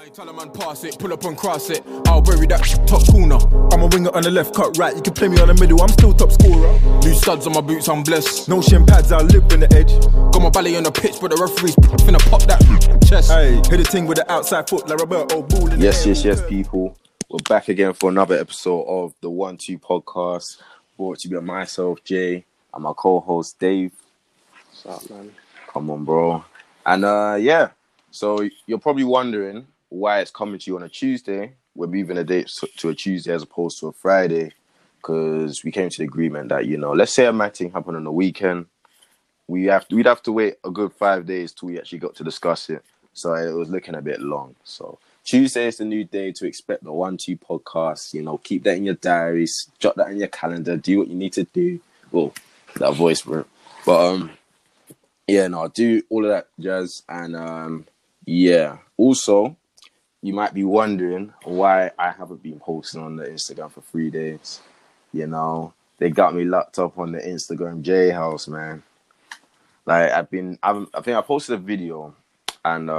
Tell a man pass it, pull up and cross it. I'll bury that top corner. I'm a winger on the left, cut right. You can play me on the middle, I'm still top scorer. New studs on my boots, I'm blessed. No shin pads, I live in the edge. Got my ballet on the pitch, but the referee's finna pop that chest. Hey, hit the thing with the outside foot like Roberto Ball in Yes, people. We're back again for another episode of the 1-2 podcast. Brought to you by myself, Jay, and my co-host, Dave. What's up, man? Come on, bro. And so you're probably wondering why it's coming to you on a Tuesday. We're moving the date to a Tuesday as opposed to a Friday because we came to the agreement that, let's say a matching happened on the weekend. We'd have to wait a good 5 days till we actually got to discuss it. So it was looking a bit long. So Tuesday is the new day to expect the 1-2 podcast. Keep that in your diaries, jot that in your calendar, do what you need to do. Well, that voice, bro. But do all of that jazz. And also, you might be wondering why I haven't been posting on the Instagram for 3 days. They got me locked up on the Instagram J House, man. Like I think I posted a video and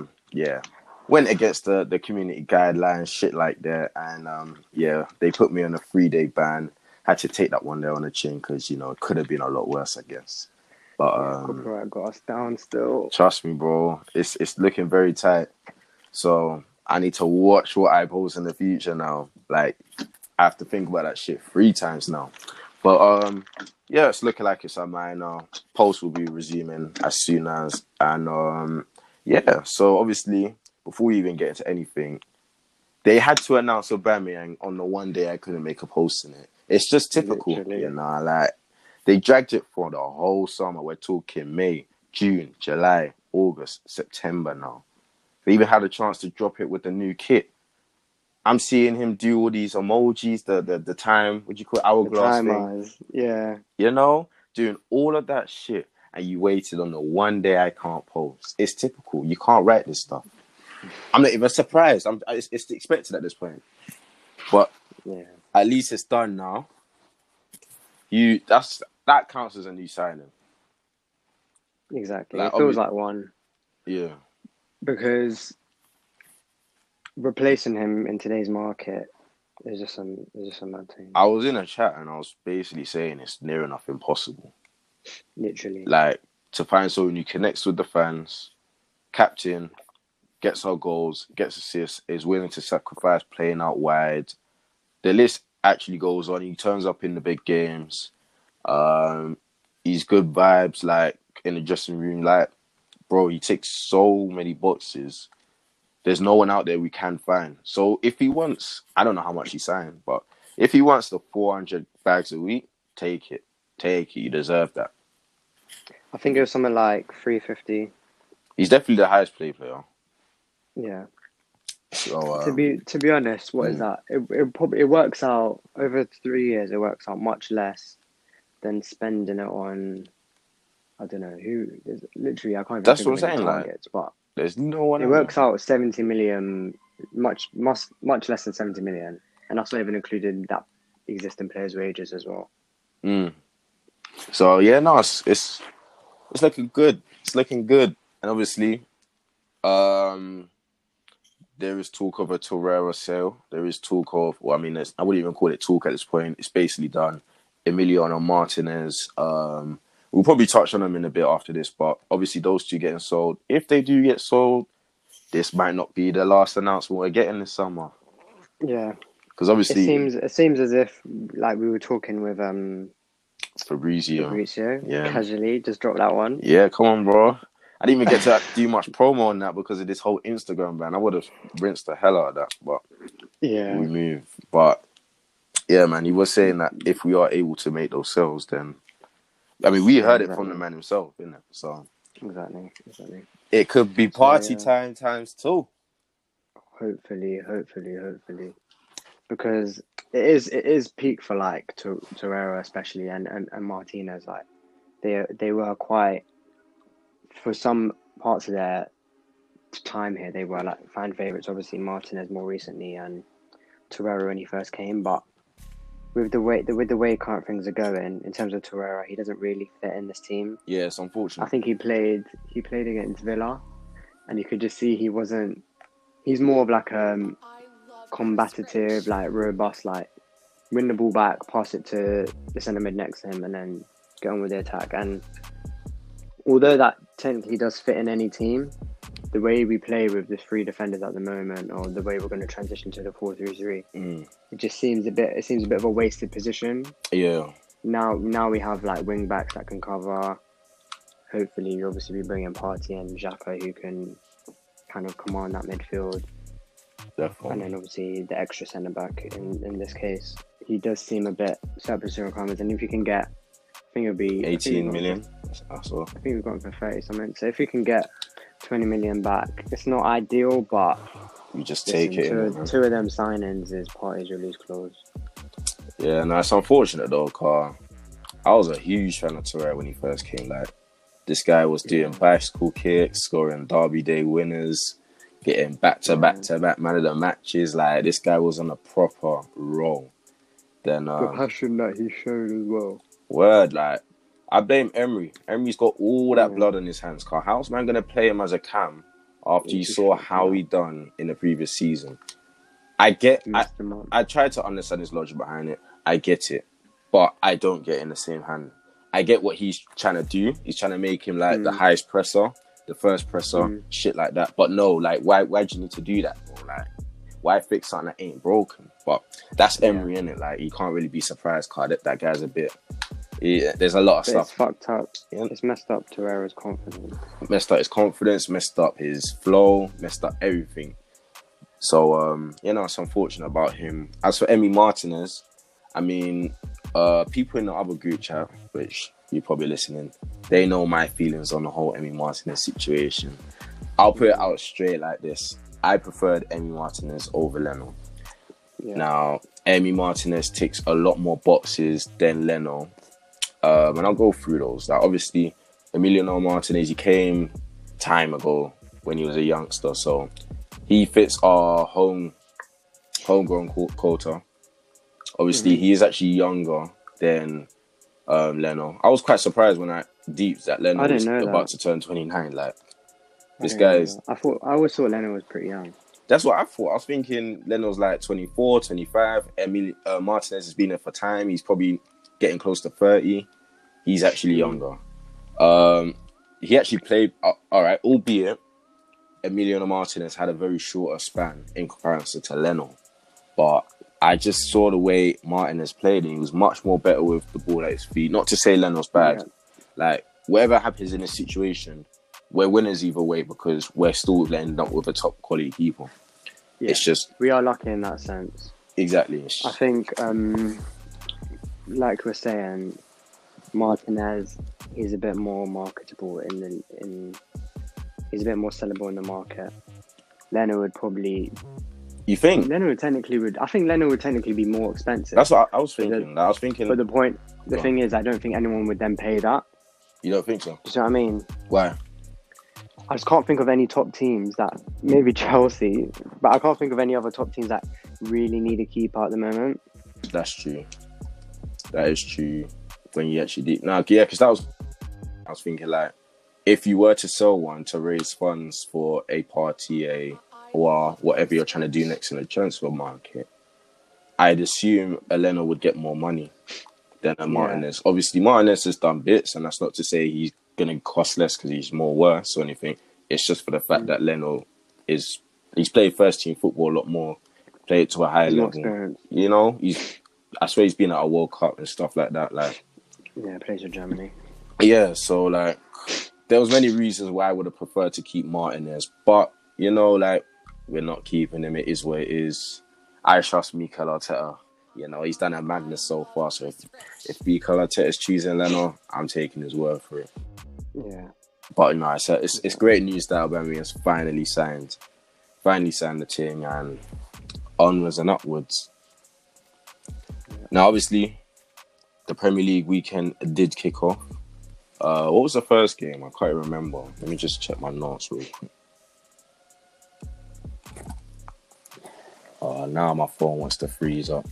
went against the community guidelines, shit like that. And they put me on a 3-day ban. Had to take that one there on the chin because, it could have been a lot worse, I guess. But copyright got us down still. Trust me, bro. It's looking very tight. So I need to watch what I post in the future now. Like, I have to think about that shit 3 times now. But it's looking like it's a minor. Post will be resuming as soon as. And so obviously, before we even get into anything, they had to announce Aubameyang on the one day I couldn't make a post in it. It's just typical, Literally. like they dragged it for the whole summer. We're talking May, June, July, August, September now. They even had a chance to drop it with the new kit. I'm seeing him do all these emojis, the time, what do you call it, hourglass thing. Eyes. Yeah. Doing all of that shit, and you waited on the one day I can't post. It's typical. You can't write this stuff. I'm not even surprised. It's expected at this point. But at least it's done now. That counts as a new signing. Exactly. It feels like one. Yeah. Because replacing him in today's market is just a mad thing. I was in a chat and I was basically saying it's near enough impossible. Literally. Like, to find someone who connects with the fans, captain, gets our goals, gets assists, is willing to sacrifice playing out wide. The list actually goes on. He turns up in the big games. He's good vibes, like, in the dressing room. Like, bro, he ticks so many boxes. There's no one out there we can find. So if he wants, I don't know how much he signed, but if he wants the 400 bags a week, take it. Take it. You deserve that. I think it was something like 350. He's definitely the highest paid player. Yeah. So to be honest, what is that? It works out over 3 years. It works out much less than spending it on. I don't know who. Literally, I can't even. That's think what I'm saying. Targets, but there's no one. It works out 70 million, much less than 70 million, and that's not even including that existing players' wages as well. So it's looking good. It's looking good, and obviously, there is talk of a Torreira sale. There is talk of, I wouldn't even call it talk at this point. It's basically done. Emiliano Martinez. We'll probably touch on them in a bit after this, but obviously those two getting sold. If they do get sold, this might not be the last announcement we're getting this summer. Yeah, because obviously it seems as if, like we were talking with Fabrizio, casually just dropped that one. Yeah, come on, bro. I didn't even get to do much promo on that because of this whole Instagram ban. I would have rinsed the hell out of that, but we move. But yeah, man, he was saying that if we are able to make those sales, then we heard it from the man himself, innit? So exactly. It could be party time times 2. Hopefully, because it is peak for like Torreira especially and Martinez. Like they were quite, for some parts of their time here, they were like fan favorites. Obviously Martinez more recently and Torreira when he first came, but with the way current things are going in terms of Torreira, he doesn't really fit in this team. Yeah, it's unfortunate. I think he played against Villa, and you could just see he wasn't He's more of like combative, like robust, like win the ball back, pass it to the centre mid next to him, and then get on with the attack. And although that technically does fit in any team, the way we play with the 3 defenders at the moment, or the way we're going to transition to the 4-3-3, it just seems a bit of a wasted position. Yeah. Now we have like wing backs that can cover. Hopefully, obviously, we bring in Partey and Xhaka who can kind of command that midfield. Definitely. And then obviously the extra centre back in this case, he does seem a bit surplus to requirements. And if you can get, I think it'll be 18 million. I saw. I think we've gone for 30 something. So if we can get 20 million back, it's not ideal, but you just take it. Two of them signings is Partey's release clause. Yeah, no, it's unfortunate though, Carl. I was a huge fan of Torreira when he first came. Like, this guy was doing bicycle kicks, scoring Derby Day winners, getting back-to-back man of the matches. Like, this guy was on a proper roll. Then the passion that he showed as well. Word, like, I blame Emery. Emery's got all that blood on his hands, Carl. How's man going to play him as a cam after you saw how he done in the previous season? I try to understand his logic behind it. I get it. But I don't get it in the same hand. I get what he's trying to do. He's trying to make him like the highest presser, the first presser, shit like that. But no, like, why do you need to do that, bro? Like, why fix something that ain't broken? But that's Emery, innit? Like, you can't really be surprised, Carl. That guy's a bit... there's a lot of stuff. It's fucked up. Yeah. It's messed up Torreira's confidence. Messed up his confidence, messed up his flow, messed up everything. So, it's unfortunate about him. As for Emi Martinez, I mean, people in the other group chat, which you're probably listening, they know my feelings on the whole Emi Martinez situation. I'll put it out straight like this. I preferred Emi Martinez over Leno. Yeah. Now, Emi Martinez ticks a lot more boxes than Leno. And I'll go through those. Like, obviously, Emiliano Martinez, he came time ago when he was a youngster, so he fits our homegrown quota. Obviously, he is actually younger than Leno. I was quite surprised when I deeped that Leno was about to turn 29. Like, this guy's... I always thought Leno was pretty young. That's what I thought. I was thinking Leno's like 24, 25. Martinez has been there for time. He's probably getting close to 30. He's actually younger. He actually played all right, albeit Emiliano Martinez had a very shorter span in comparison to Leno. But I just saw the way Martinez played, and he was much more better with the ball at his feet. Not to say Leno's bad. Yeah. Like, whatever happens in this situation, we're winners either way because we're still ending up with a top quality keeper. Yeah. It's just... we are lucky in that sense. Exactly. I think, like we're saying, Martinez is a bit more marketable he's a bit more sellable in the market. Leno would probably... You think? I think Leno would technically be more expensive. That's what I was thinking. But the thing is, I don't think anyone would then pay that. You don't think so? Do you know what I mean? Why? I just can't think of any top teams that, maybe Chelsea, but I can't think of any other top teams that really need a keeper at the moment. That's true. That is true. When you actually do. Now, yeah, because I was thinking, like, if you were to sell one to raise funds for a party, or whatever you're trying to do next in the transfer market, I'd assume a Leno would get more money than a Martinez. Obviously, Martinez has done bits, and that's not to say he's going to cost less because he's more worse or anything. It's just for the fact that Leno he's played first team football a lot more, played to a higher level. You know, I swear he's been at a World Cup and stuff like that. Like, yeah, plays for Germany. Yeah, so like, there was many reasons why I would have preferred to keep Martinez, but you know, like, we're not keeping him. It is what it is. I trust Mikel Arteta. You know, he's done a madness so far. So if Mikel Arteta is choosing Leno, I'm taking his word for it. Yeah. But no, it's great news that Aubameyang has finally signed the team, and onwards and upwards. Yeah. Now, obviously, the Premier League weekend did kick off. What was the first game? I can't remember. Let me just check my notes real quick. Now my phone wants to freeze up.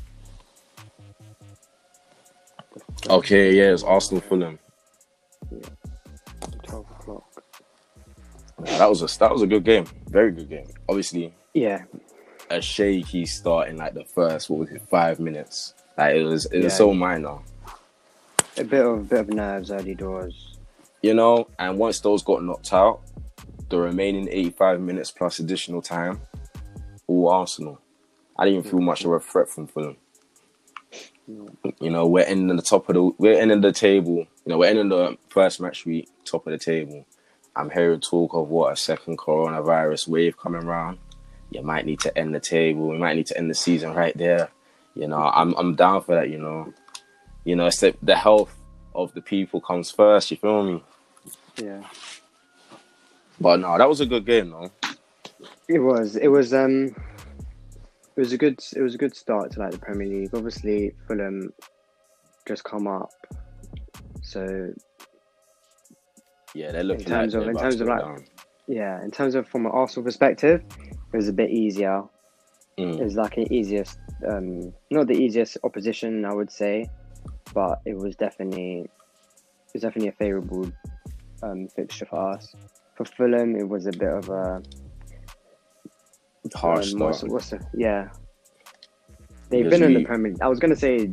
Okay, yeah, it's Arsenal Fulham. Yeah. 12 o'clock. Yeah, that was a good game. Very good game. Obviously, Yeah, a shaky start in like the first 5 minutes. Like it was Yeah. so minor, a bit of nerves early doors. you know. And once those got knocked out, the remaining 85 minutes plus additional time, all Arsenal. I didn't even feel much of a threat from Fulham. You know, we're ending the table. You know, we're ending the first match week top of the table. I'm hearing talk of a second coronavirus wave coming around. You might need to end the table. We might need to end the season right there. You know, I'm down for that. You know, it's the health of the people comes first. You feel me? Yeah, But no, that was a good game, though. it was a good start to like the Premier League. Obviously, Fulham just come up, so Yeah, they're looking in terms of from an Arsenal perspective, it was a bit easier. It was like an easiest, not the easiest opposition, I would say, but it was definitely a favourable fixture for us. For Fulham, it was a bit of a harsh start. They've been in the Premier League. I was going to say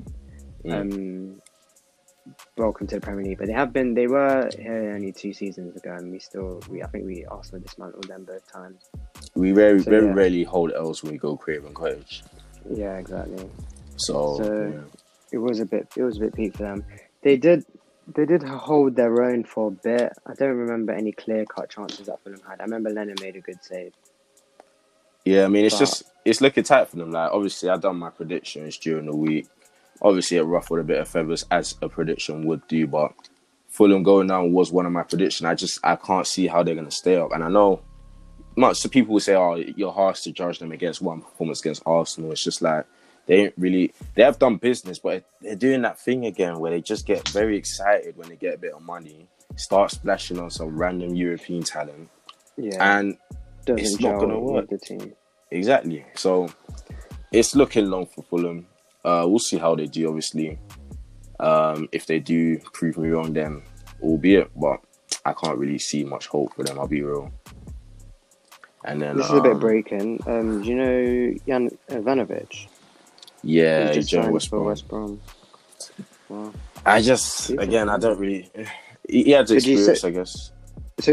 welcome to the Premier League, but they were here only 2 seasons ago, and I think we Arsenal dismantled them both times. We very rarely hold L's when we go Craven Cottage. Yeah, exactly. So it was a bit peak for them. They did hold their own for a bit. I don't remember any clear-cut chances that Fulham had. I remember Lennon made a good save. Yeah, I mean, it's looking tight for them. Like, obviously, I done my predictions during the week. Obviously, it ruffled a bit of feathers, as a prediction would do, but Fulham going down was one of my predictions. I can't see how they're going to stay up. And I know so people will say, oh, you're harsh to judge them against one performance against Arsenal. It's just like, they have done business, but they're doing that thing again where they just get very excited when they get a bit of money, start splashing on some random European talent. Yeah. And it's not going to work. The team. Exactly. So it's looking long for Fulham. We'll see how they do, obviously. If they do prove me wrong, then albeit, but I can't really see much hope for them, I'll be real. And then this is a bit breaking. Do you know Jan Ivanovic? Yeah, he joined West Brom. Wow. I don't really. He had the experience, I guess. So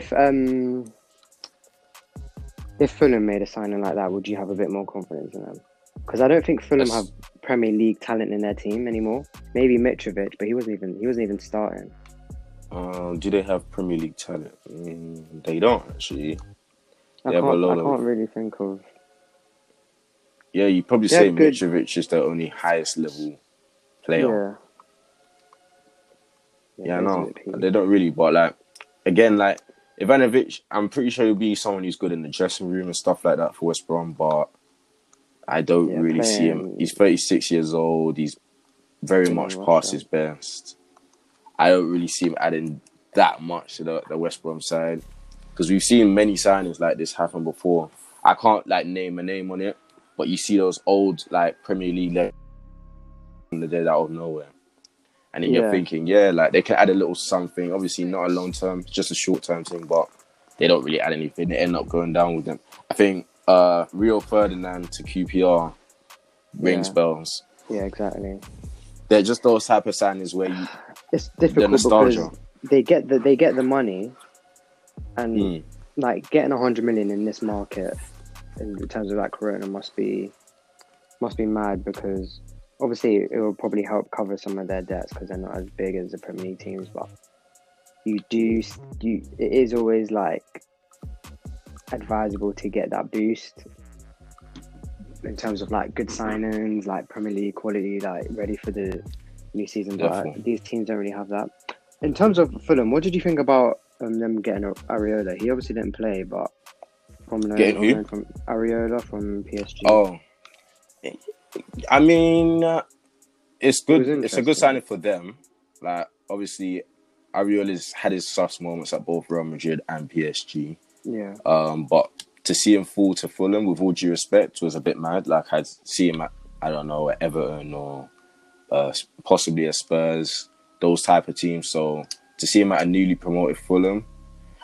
if Fulham made a signing like that, would you have a bit more confidence in them? Because I don't think Fulham have Premier League talent in their team anymore. Maybe Mitrovic, but he wasn't even starting. Do they have Premier League talent? They don't actually. I can't really think of. Yeah, you probably say Mitrovic is the only highest level player. Yeah, no, they don't really. But like, again, like Ivanovic, I'm pretty sure he'll be someone who's good in the dressing room and stuff like that for West Brom. But I don't really see him. He's 36 years old. He's very much past his best. I don't really see him adding that much to the West Brom side, because we've seen many signings like this happen before. I can't like name a name on it, but you see those old like Premier League they're out of nowhere, and then you're thinking, like they can add a little something. Obviously, not a long term, just a short term thing, but they don't really add anything. They end up going down with them. I think Rio Ferdinand to QPR rings bells. Yeah, exactly. They're just those type of signings where it's difficult because they get the money, and like getting 100 million in this market in terms of like Corona must be mad, because obviously it will probably help cover some of their debts because they're not as big as the Premier League teams, but it is always like advisable to get that boost in terms of like good signings, like Premier League quality, like ready for the new season. But these teams don't really have that. In terms of Fulham, what did you think about them getting Areola? He obviously didn't play, but from Areola from PSG. Oh, I mean, it's good. It's a good signing for them. Like, obviously, Areola's had his sus moments at both Real Madrid and PSG. Yeah. But to see him fall to Fulham, with all due respect, was a bit mad. Like, I'd see him at, I don't know, at Everton or possibly at Spurs, those type of teams. So to see him at a newly promoted Fulham,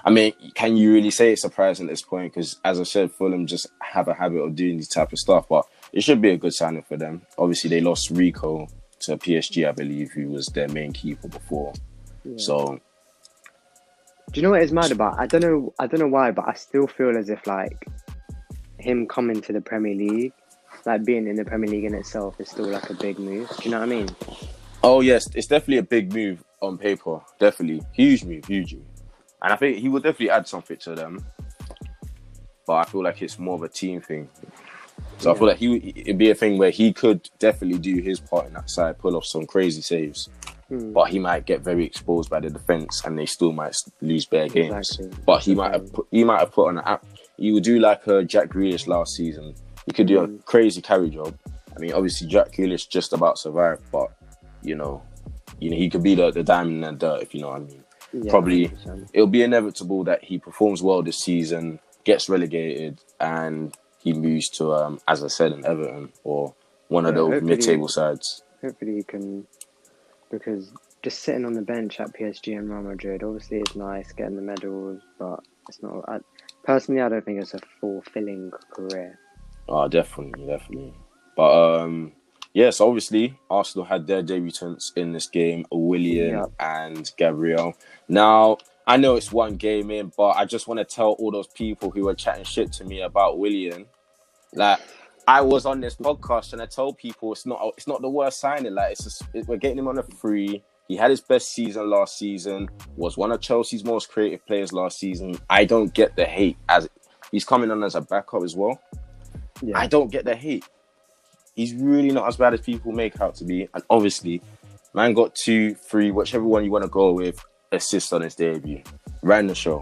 I mean, can you really say it's surprising at this point? Because as I said, Fulham just have a habit of doing these type of stuff, but it should be a good signing for them. Obviously, they lost Rico to PSG, I believe, who was their main keeper before. Yeah. So, do you know what it's mad about? I don't know why, but I still feel as if like him coming to the Premier League, like being in the Premier League in itself, is still like a big move. Do you know what I mean? Oh yes, it's definitely a big move on paper. Definitely, huge move. And I think he will definitely add something to them. But I feel like it's more of a team thing. So I feel like it'd be a thing where he could definitely do his part in that side, pull off some crazy saves. But he might get very exposed by the defence and they still might lose bare games. Exactly. But he might have put on an app. He would do like a Jack Grealish last season. He could do a crazy carry job. I mean, obviously Jack Grealish just about survived, but you know, he could be the diamond in the dirt, if you know what I mean. Yeah, probably 100%. It'll be inevitable that he performs well this season, gets relegated, and he moves to, as I said, an Everton or one of those mid-table sides. Hopefully he can, because just sitting on the bench at PSG and Real Madrid, obviously it's nice getting the medals, but it's not. Personally, I don't think it's a fulfilling career. Oh, definitely. But yes, obviously, Arsenal had their debutants in this game, Willian and Gabriel. Now, I know it's one game in, but I just want to tell all those people who were chatting shit to me about Willian, like, I was on this podcast and I told people it's not the worst signing. Like, we're getting him on a free. He had his best season last season, was one of Chelsea's most creative players last season. I don't get the hate, as he's coming on as a backup as well. Yeah. I don't get the hate. He's really not as bad as people make out to be. And obviously, man got 2, 3, whichever one you want to go with, assists on his debut. Ran the show.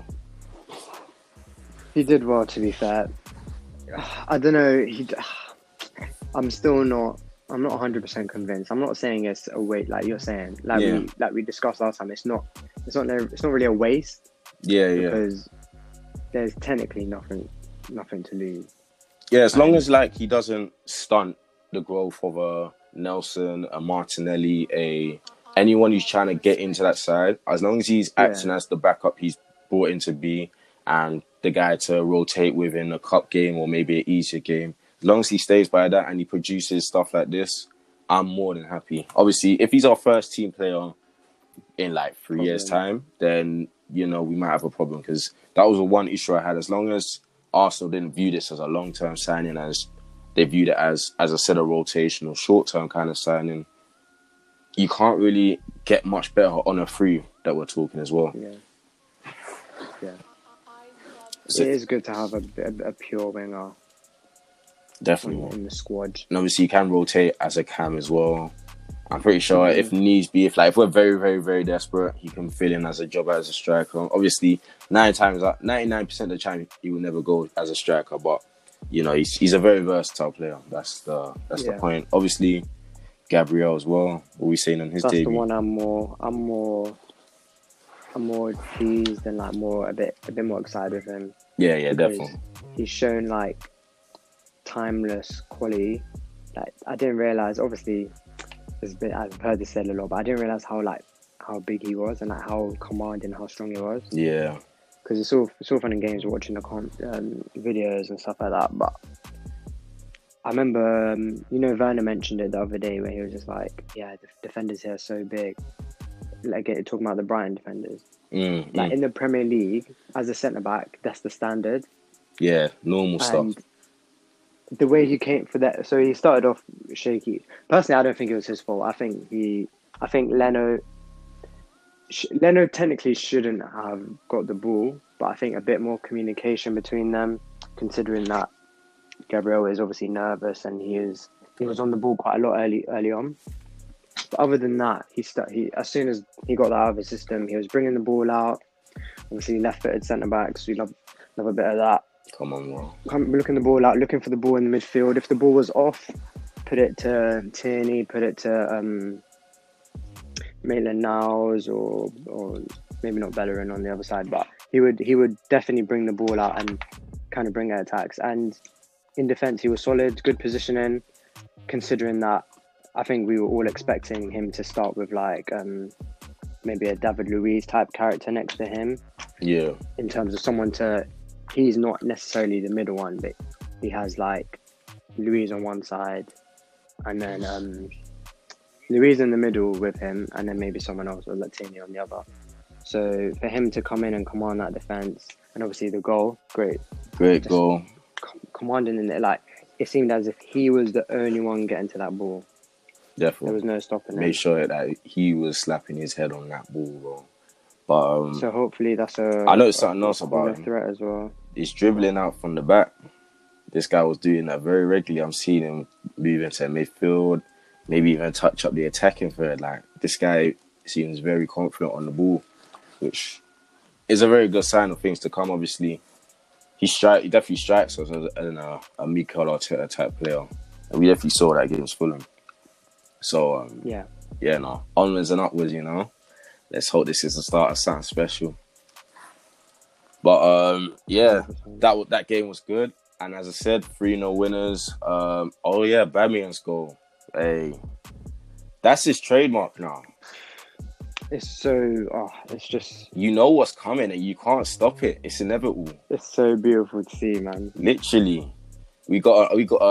He did well, to be fair. I don't know. I'm not 100% convinced. I'm not saying it's a waste, like you're saying. Like we discussed last time. It's not really a waste. Yeah. Because there's technically nothing to lose. Yeah, as long as like he doesn't stunt the growth of a Nelson, a Martinelli, anyone who's trying to get into that side, as long as he's acting as the backup he's brought in to be and the guy to rotate within a cup game or maybe an easier game, as long as he stays by that and he produces stuff like this, I'm more than happy. Obviously, if he's our first team player in like 3 years' time, then, we might have a problem, because that was the one issue I had. As long as Arsenal didn't view this as a long-term signing, as they viewed it as I said, a rotational, short-term kind of signing, you can't really get much better on a free that we're talking as well. Yeah. So, it is good to have a pure winger. Definitely. In the squad. And obviously you can rotate as a cam as well. I'm pretty sure if needs be, if we're very, very, very desperate, he can fill in as a job as a striker. Obviously, 99% of the time, he will never go as a striker, but he's a very versatile player. That's the point. Obviously, Gabriel as well. What are we saying on his debut? That's the one I'm more pleased and a bit more excited with him. Yeah, definitely. He's shown timeless quality. I didn't realize, obviously, I've heard this said a lot, but I didn't realize how big he was and how commanding, how strong he was. Yeah. Because it's all fun and games watching the videos and stuff like that. But I remember, Werner mentioned it the other day where he was just like, the defenders here are so big. Talking about the Brighton defenders. In the Premier League, as a centre-back, that's the standard. Yeah, normal stuff. The way he came for that, so he started off shaky. Personally, I don't think it was his fault. I think Leno technically shouldn't have got the ball, but I think a bit more communication between them, considering that Gabriel is obviously nervous and he was on the ball quite a lot early on. But other than that, he as soon as he got that out of his system, he was bringing the ball out. Obviously, left-footed centre backs, we love a bit of that. Come on, bro. Looking the ball out, looking for the ball in the midfield. If the ball was off, put it to Tierney, put it to Maitland-Niles, or maybe not Bellerin on the other side, but he would definitely bring the ball out and kind of bring out attacks. And in defence, he was solid, good positioning, considering that I think we were all expecting him to start with maybe a David Luiz type character next to him. Yeah. in terms of someone to. He's not necessarily the middle one, but he has like Louise on one side, and then Louise in the middle with him, and then maybe someone else or Latini on the other. So for him to come in and command that defense, and obviously the goal, great Great goal. commanding in it, like it seemed as if he was the only one getting to that ball. There Definitely. was no stopping him. Made sure that he was slapping his head on that ball, bro. But So hopefully that's I noticed something else about him. threat as well. He's dribbling out from the back. This guy was doing that very regularly. I'm seeing him move into midfield, maybe even touch up the attacking third. Like, this guy seems very confident on the ball, which is a very good sign of things to come. Obviously, he definitely strikes us as a Mikel Arteta type player, and we definitely saw that against Fulham. So Yeah. no, onwards and upwards, you know. Let's hope this is the start of something special. But that game was good, and as I said, 3-0 winners. Bamian's goal. Hey, that's his trademark now. It's so it's just You know what's coming, and you can't stop it. It's inevitable. it's so beautiful to see, man. Literally, we got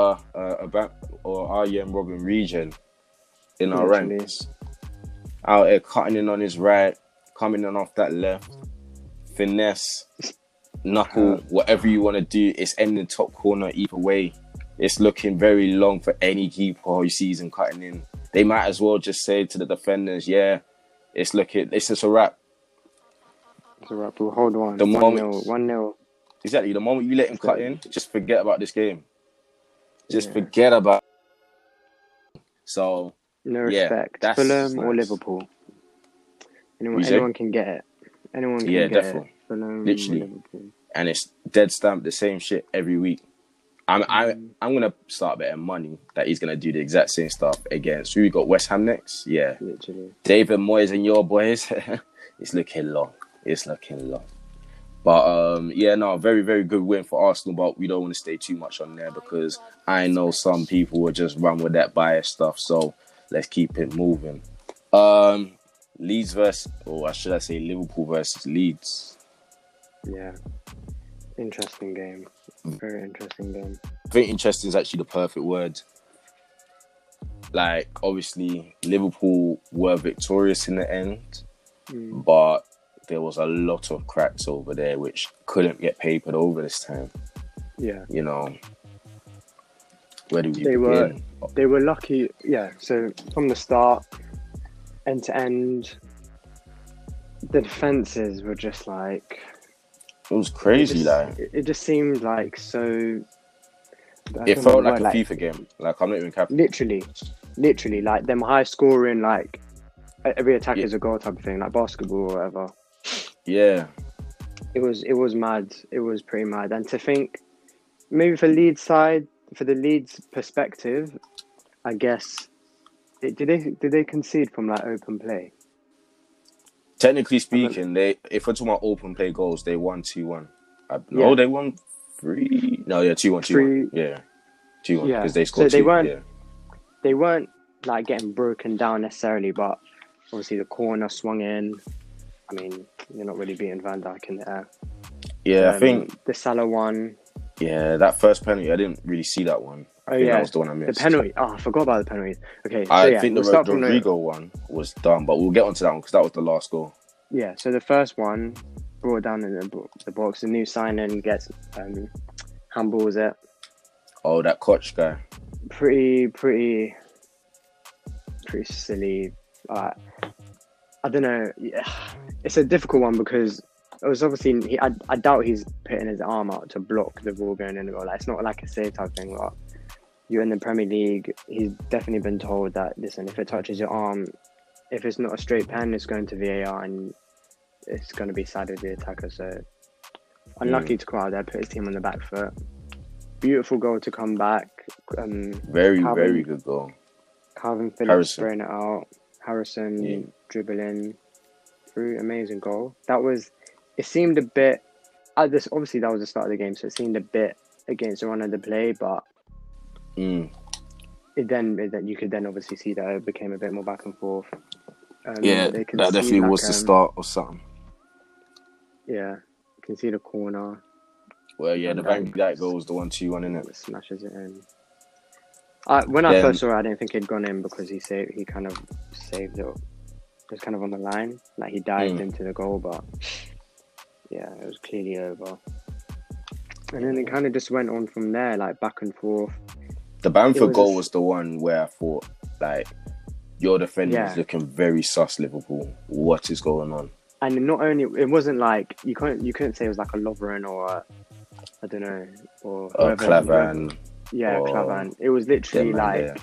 Arjen Robben Regen in our Literally. ranks. Out here cutting in on his right, coming in off that left, finesse, knuckle, whatever you want to do. It's ending top corner either way. It's looking very long for any keeper who sees him cutting in. They might as well just say to the defenders, yeah, it's just a wrap. It's a wrap. We'll hold on. The 1-0. 1-0. Exactly. The moment you let him cut in, just forget about this game. Just Yeah. forget about it. So, No yeah, respect. that's Fulham or nice. Liverpool. You say? Anyone can get it. Anyone can Yeah, get definitely. it. Fulham, Literally. Liverpool. And it's dead stamp the same shit every week. I'm gonna start betting money that he's gonna do the exact same stuff against who we got. West Ham next. Yeah, Literally. David Moyes and your boys. It's looking long. But very, very good win for Arsenal. But we don't want to stay too much on there because I know some people will just run with that bias stuff. So let's keep it moving. Leeds versus, or should I say Liverpool versus Leeds. Yeah. Interesting game. Very interesting game. I think interesting is actually the perfect word. Like, obviously, Liverpool were victorious in the end, but there was a lot of cracks over there which couldn't get papered over this time. Yeah. You know, where do we They begin? They were lucky. Yeah. So from the start, end to end, the defenses were just like... It was crazy, It just seemed like so... It felt like a FIFA game. Like, I'm not even capping. Literally, like them high scoring, like every attack is a goal type of thing, like basketball or whatever. Yeah. It was mad. It was pretty mad. And to think, maybe for the Leeds perspective, I guess, did they concede from like open play? Technically speaking, if we're talking about open play goals, they won 2-1. Yeah. They won 3. No, yeah, 2-1. Yeah, 2-1 Yeah. because they scored So 2. they weren't like getting broken down necessarily, but obviously the corner swung in. I mean, you're not really beating Van Dijk in the air. Yeah, I think the Salah one. Yeah, that first penalty, I didn't really see that one. I think that was the one I missed. The penalty. Oh, I forgot about the penalties. Okay, so I think we'll the start from Rodrigo one was dumb, but we'll get onto that one because that was the last goal. Yeah, so the first one brought down in the box. The new signing gets handballs it. Oh, that Koch guy. Pretty silly. I don't know. Yeah. It's a difficult one because it was obviously I doubt he's putting his arm out to block the ball going in the goal. Like, it's not like a save type thing. Like, you're in the Premier League. He's definitely been told that, listen, if it touches your arm, if it's not a straight pen, it's going to VAR and it's going to be side of the attacker. So unlucky to come out there, put his team on the back foot. Beautiful goal to come back. Very good goal. Calvin Phillips spraying it out. Harrison dribbling through. Amazing goal. It seemed a bit, obviously that was the start of the game, so it seemed a bit against the run of the play, but you could then obviously see that it became a bit more back and forth. That definitely was the start of something. Yeah, you can see the corner. Well, yeah, the Van Dijk goal was the 1-2-1, innit? Smashes it in. When I first saw it, I didn't think he'd gone in because he kind of saved it. It was kind of on the line, like he dived into the goal, but yeah, it was clearly over. And then it kind of just went on from there, like back and forth. The Bamford goal was the one where I thought, like, your defender is looking very sus, Liverpool. What is going on? And not only, it wasn't like, you couldn't say it was like a Lovren or I don't know, or Klavan. Yeah, Klavan. It was literally like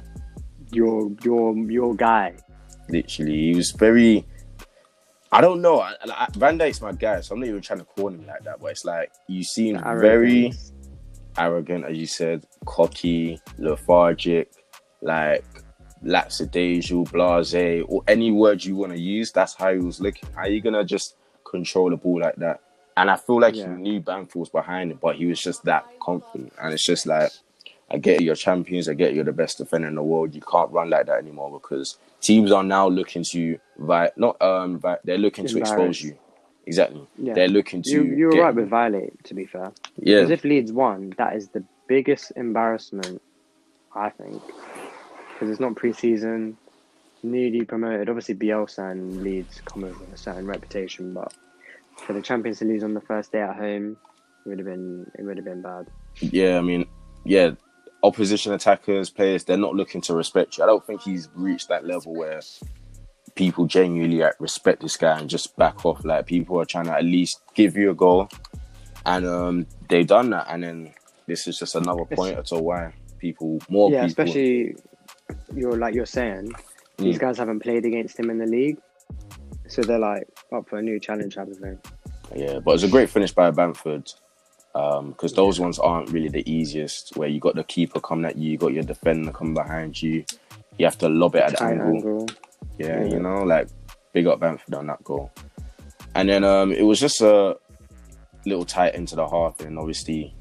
your guy. Literally, he was very. I don't know. Van Dijk's my guy, so I'm not even trying to call him like that. But it's like you seem very arrogant, as you said, cocky, lethargic, like lackadaisical, blasé, or any word you want to use. That's how he was looking. How are you gonna just control the ball like that? And I feel like he knew Bamford was behind him, but he was just that confident. And it's just like, I get you're champions, I get you're the best defender in the world. You can't run like that anymore because teams are now looking to they're looking to expose you. Exactly. Yeah. They're looking to. You're right with violate, to be fair. Yeah. Because if Leeds won, that is the biggest embarrassment, I think. Because it's not pre-season, newly promoted. Obviously, Bielsa and Leeds come with a certain reputation, but for the champions to lose on the first day at home, it would have been bad. Yeah, I mean, yeah. Opposition attackers, players, they're not looking to respect you. I don't think he's reached that level where people genuinely respect this guy and just back off. Like, people are trying to at least give you a goal, and they've done that. And then this is just another pointer to why people. Especially you're saying, these guys haven't played against him in the league, so they're like up for a new challenge type of thing. Yeah, but it's a great finish by Bamford. Because those ones aren't really the easiest, where you got the keeper coming at you got your defender coming behind you. You have to lob it at an angle. Yeah, you know, like, big up Bamford on that goal. And then it was just a little tight into the half, and obviously,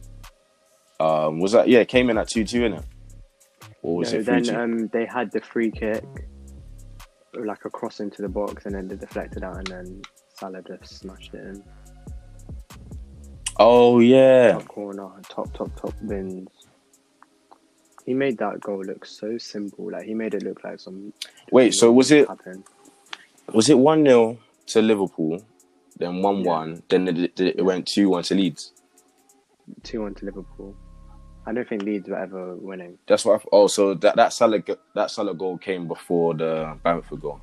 it came in at 2-2, innit? Or was it 3-2? Then they had the free kick, like a cross into the box, and then they deflected out, and then Salah just smashed it in. Oh, yeah. Top corner, top bins. He made that goal look so simple. Like, he made it look like some... Wait, so was it 1-0 to Liverpool, then 1-1, then it went 2-1 to Leeds? 2-1 to Liverpool. I don't think Leeds were ever winning. That's what so that Salah goal came before the Bamford goal?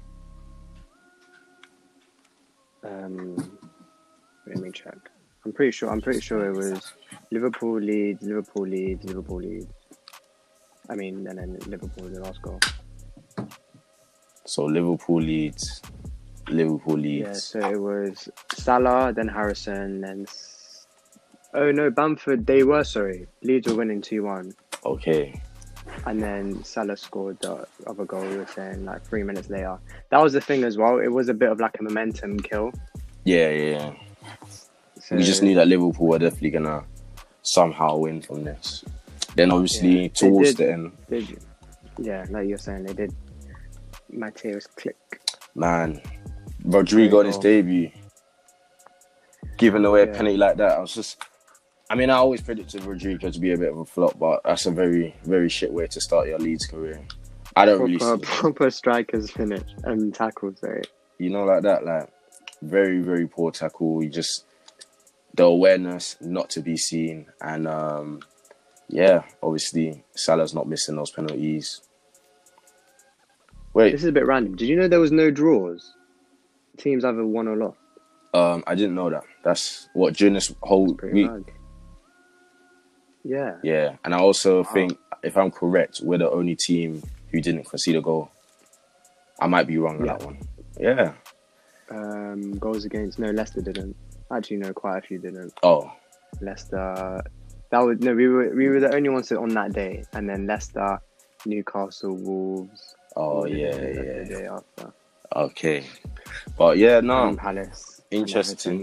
Let me check. I'm pretty sure it was Liverpool, Leeds. I mean, and then Liverpool the last goal. So Liverpool, Leeds. Yeah, so it was Salah, then Harrison, then... Oh no, Bamford, Leeds were winning 2-1. Okay. And then Salah scored the other goal, we were saying, like 3 minutes later. That was the thing as well. It was a bit of like a momentum kill. Yeah. So, we just knew that Liverpool were definitely going to somehow win from this. Then obviously towards the end. Like you're saying, they did. Mateus click. Man, Rodrigo on his debut, giving away a penalty like that. I always predicted Rodrigo to be a bit of a flop, but that's a very, very shit way to start your Leeds career. I don't really see proper strikers finish and tackles, right? You know, like that, like very, very poor tackle. You just the awareness not to be seen, and obviously Salah's not missing those penalties. Wait, this is a bit random. Did you know there was no draws? Teams either won or lost. I didn't know that. That's what during this whole week. Mad. Yeah. Yeah, and I also think, if I'm correct, we're the only team who didn't concede a goal. I might be wrong on that one. Yeah. Goals against... No, Leicester didn't. Actually, no, quite a few didn't. Oh. Leicester... we were the only ones on that day. And then Leicester, Newcastle, Wolves... Oh, yeah. The day after. Okay. But yeah, no. Palace. Interesting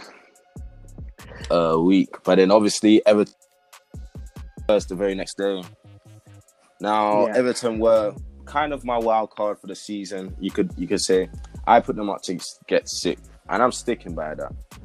week. But then obviously Everton first the very next day. Now Everton were kind of my wild card for the season. You could say I put them up to get sick, and I'm sticking by that.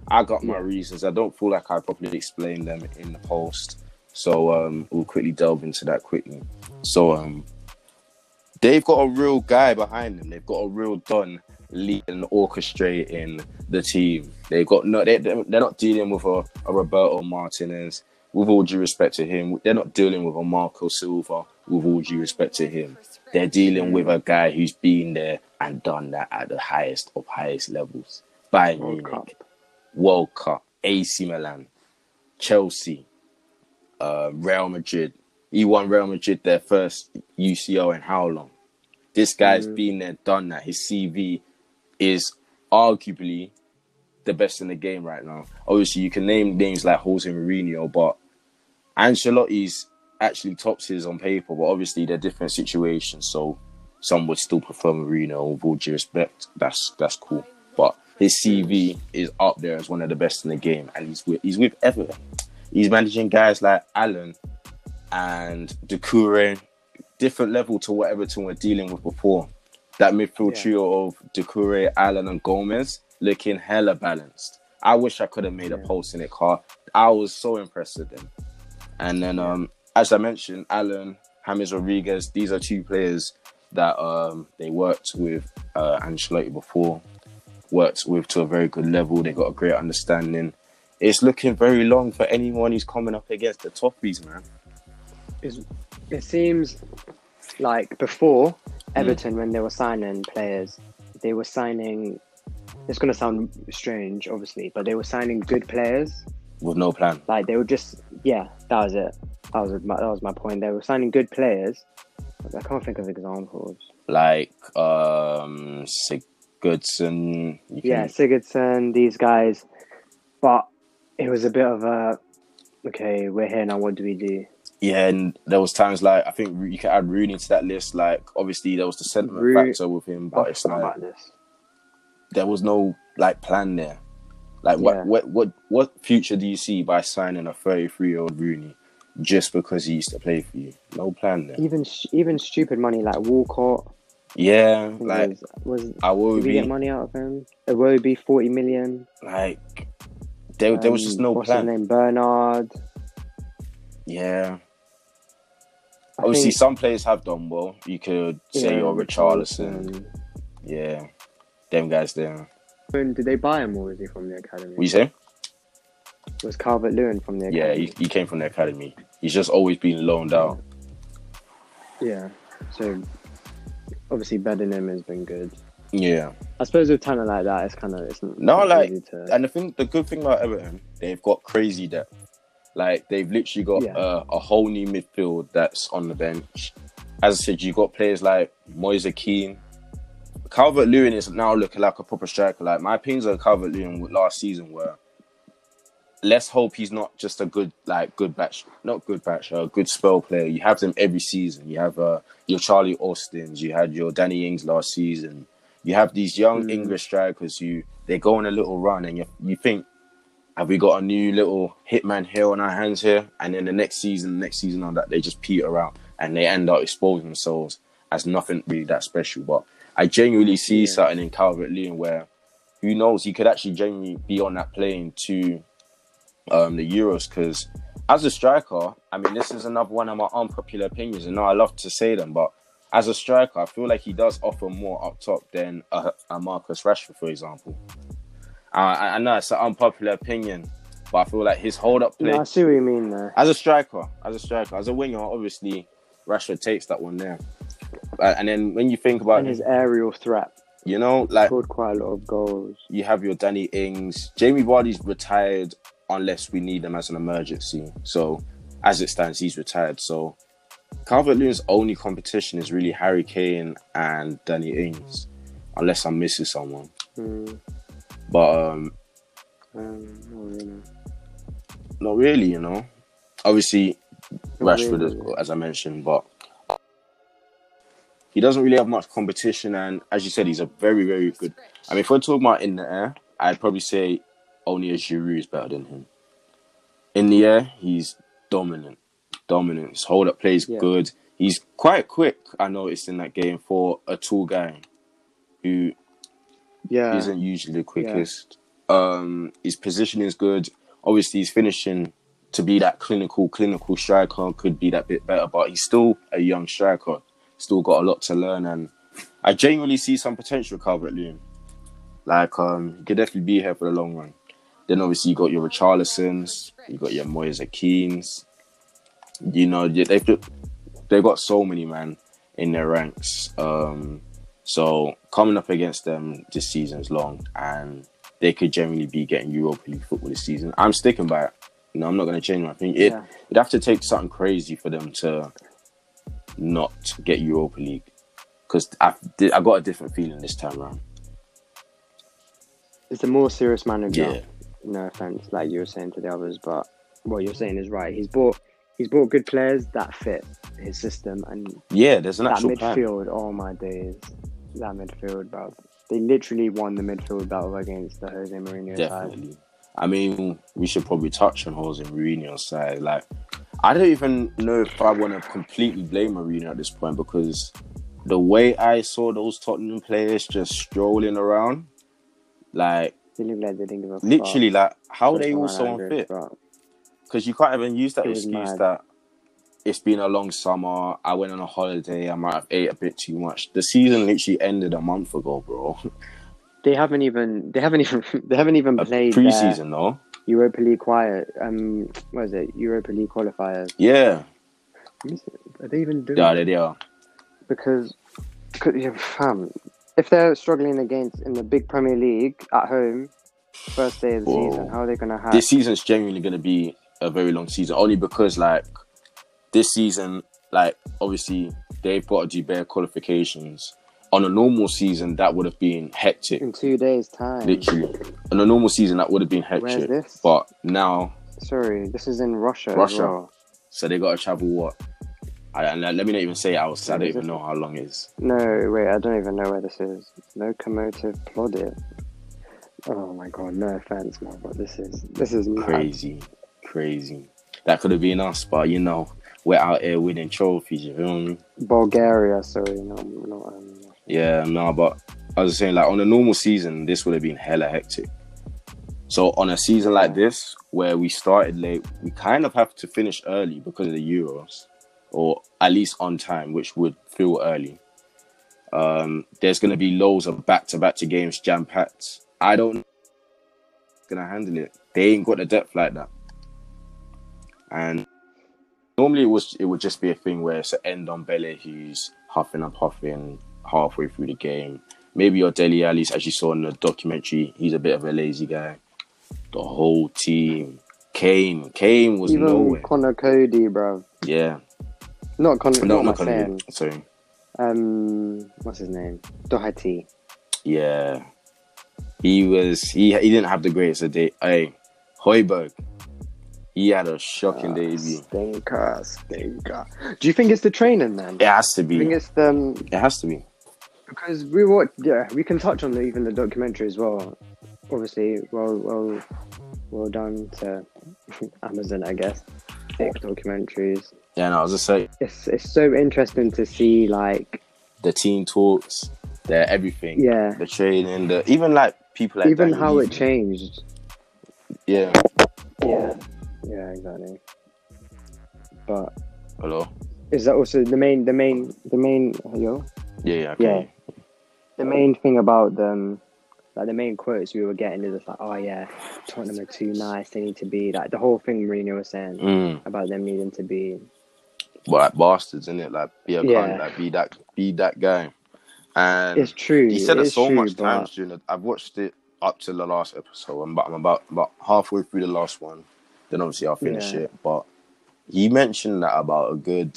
I got my reasons. I don't feel like I properly explained them in the post. So we'll quickly delve into that quickly. So they've got a real guy behind them. They've got a real Don leading, orchestrating the team. They've got they're not dealing with a Roberto Martinez. With all due respect to him, they're not dealing with a Marco Silva. With all due respect to him, they're dealing with a guy who's been there and done that at the highest of highest levels. Bayern Munich, World Cup, AC Milan, Chelsea, Real Madrid. He won Real Madrid their first UCL in how long? This guy's been there, done that. His CV is arguably the best in the game right now. Obviously, you can name names like Jose Mourinho, but Ancelotti's actually tops his on paper, but obviously they're different situations, so some would still prefer Mourinho. With all due respect, that's cool. But his CV is up there as one of the best in the game, and he's with Everton. He's managing guys like Allen and Doucouré, different level to what Everton were dealing with before. That midfield trio of Doucouré, Allen, and Gomez looking hella balanced. I wish I could have made a post in it, Carl. I was so impressed with them. And then, as I mentioned, Allen, James Rodriguez, these are two players that they worked with Ancelotti before, worked with to a very good level. They got a great understanding. It's looking very long for anyone who's coming up against the Toffees, man. It seems like before Everton, when they were signing players, they were signing. It's going to sound strange, obviously, but they were signing good players with no plan. Like they were just, that was it. That was my point. They were signing good players. I can't think of examples. Like Sigurdsson. Sigurdsson. These guys, but it was a bit of a okay. We're here now. What do we do? Yeah, and there was times like I think you could add Rooney to that list. Like obviously there was the sentiment factor with him, but it's like there was no like plan there. Like what future do you see by signing a 33-year-old Rooney just because he used to play for you? No plan there. Even stupid money like Walcott. Yeah, like did we get money out of him? Iwobi, 40 million. Like there was just no what's plan. His name? Bernard. Yeah. Obviously, some players have done well. You could say you're Richarlison. Yeah, them guys there. Did they buy him or was he from the academy? What you say? Was Calvert-Lewin from the academy? Yeah, he came from the academy. He's just always been loaned out. Yeah, so obviously Bedingham has been good. Yeah. I suppose with talent like that, it's and the good thing about Everton, they've got crazy depth. Like they've literally got a whole new midfield that's on the bench. As I said, you've got players like Moise Kean. Calvert-Lewin is now looking like a proper striker. Like my opinions on Calvert-Lewin last season were, let's hope he's not just a good spell player. You have them every season. You have your Charlie Austins. You had your Danny Ings last season. You have these young English strikers who they go on a little run, and you think, have we got a new little hitman here on our hands here? And then the next season on that, they just peter out and they end up exposing themselves as nothing really that special. But I genuinely see something in Calvert-Lewin where, who knows, he could actually genuinely be on that plane to the Euros. Because as a striker, I mean, this is another one of my unpopular opinions. And I love to say them, but as a striker, I feel like he does offer more up top than a Marcus Rashford, for example. I know it's an unpopular opinion, but I feel like his hold-up play... No, I see what you mean there. As a striker. As a winger, obviously, Rashford takes that one there. And then when you think about... And his aerial threat. You know, like... Scored quite a lot of goals. You have your Danny Ings. Jamie Vardy's retired unless we need him as an emergency. So, as it stands, he's retired. So, Calvert-Lewin's only competition is really Harry Kane and Danny Ings. Unless I'm missing someone. But not really, you know. Obviously, Rashford, as I mentioned, but he doesn't really have much competition. And as you said, he's a very, very good. I mean, if we're talking about in the air, I'd probably say only a Giroud is better than him. In the air, he's dominant. His hold-up play is good. He's quite quick, I noticed, in that game for a tall guy who isn't usually the quickest. His positioning is good. Obviously, his finishing to be that clinical striker could be that bit better, but he's still a young striker. Still got a lot to learn, and I genuinely see some potential Calvert-Lewin. Like, he could definitely be here for the long run. Then obviously you got your Richarlisons, you got your Moise Keanes. You know, they've got so many, man, in their ranks. So coming up against them this season's long, and they could generally be getting Europa League football this season. I'm sticking by it. You know, I'm not going to change my opinion. It'd have to take something crazy for them to not get Europa League, because I got a different feeling this time around. It's a more serious manager. Yeah. No offense, like you were saying to the others, but what you're saying is right. He's bought good players that fit his system, and there's an actual midfield. plan. Oh my days, that midfield, bro. They literally won the midfield battle against the Jose Mourinho Definitely. side. I mean, we should probably touch on Jose Mourinho's side. Like, I don't even know if I want to completely blame Mourinho at this point, because the way I saw those Tottenham players just strolling around, like, They look like they didn't give a literally, fuck. like, how are they all so unfit? Because you can't even use that excuse that it's been a long summer, I went on a holiday, I might have ate a bit too much. The season literally ended a month ago, bro. They haven't even played pre-season though. Europa League what is it? Europa League qualifiers. Yeah. Are they even doing? Yeah, they are. Because fam, if they're struggling in the big Premier League at home, first day of the season, how are they gonna have? This season's genuinely gonna be a very long season, only because like this season, like obviously they've got to do bare qualifications. On a normal season, that would have been hectic. In 2 days' time. Literally. On a normal season, that would have been hectic. Where's this? But now... Sorry, this is in Russia. Russia. As well. So they got to travel what? Let me not even say it outside. I don't even know how long it is. No, wait, I don't even know where this is. Lokomotiv Plovdiv. Oh my god, no offense, man, but this is mad. Crazy. That could have been us, but you know, we're out here winning trophies, you feel me? Bulgaria, sorry, no. Yeah, no, but I was saying, like, on a normal season, this would have been hella hectic. So on a season like this, where we started late, we kind of have to finish early because of the Euros, or at least on time, which would feel early. There's going to be loads of back-to-back games jam-packed. I don't know if they're going to handle it. They ain't got the depth like that. And normally it would just be a thing where it's an Ndombele who's huffing and puffing halfway through the game. Maybe your Dele Alli, as you saw in the documentary, he's a bit of a lazy guy. The whole team. Kane was even nowhere. Connor Cody, bro. Yeah. Not Connor. Not Connor. Sorry. What's his name? Doherty. Yeah. He didn't have the greatest of day. Hey, Højbjerg. He had a shocking debut. Stinker. Do you think it's the training, man? It has to be. I think it's the... It has to be. Because we can touch on even the documentary as well. Obviously, well done to Amazon, I guess. 6 documentaries. Yeah, no, I was just saying. It's so interesting to see, like... The team talks, the everything. Yeah. The training, even like people like... Even how it changed. Yeah. Yeah, exactly. But... Hello? Is that also the main... Hello? Yeah. Yeah. The main thing about them... Like, the main quotes we were getting is just like, oh yeah, Tottenham are too nice, they need to be... Like, the whole thing Mourinho was saying about them needing to be... Well, like bastards, innit? Like, be a cunt, like, be that guy. And it's true. He said it so true, much times during it. I've watched it up to the last episode. I'm about halfway through the last one. Then obviously I'll finish it. But he mentioned that about a good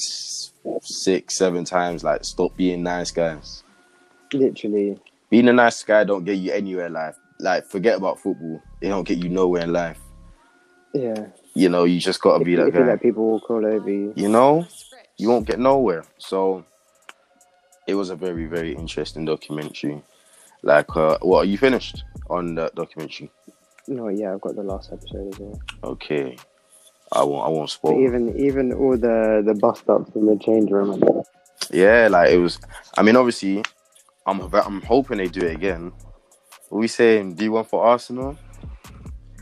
6-7 times. Like, stop being nice guys. Literally. Being a nice guy don't get you anywhere in life. Like, forget about football. It don't get you nowhere in life. Yeah. You know, you just got to be that guy. If you let people walk all over you. You know, you won't get nowhere. So, it was a very, very interesting documentary. Like, what, are you finished on that documentary? No, yeah, I've got the last episode as well. Okay. I won't spoil. But even all the bust-ups in the change room. Yeah, like, it was... I mean, obviously... I'm hoping they do it again. What are we saying? Do you want for Arsenal?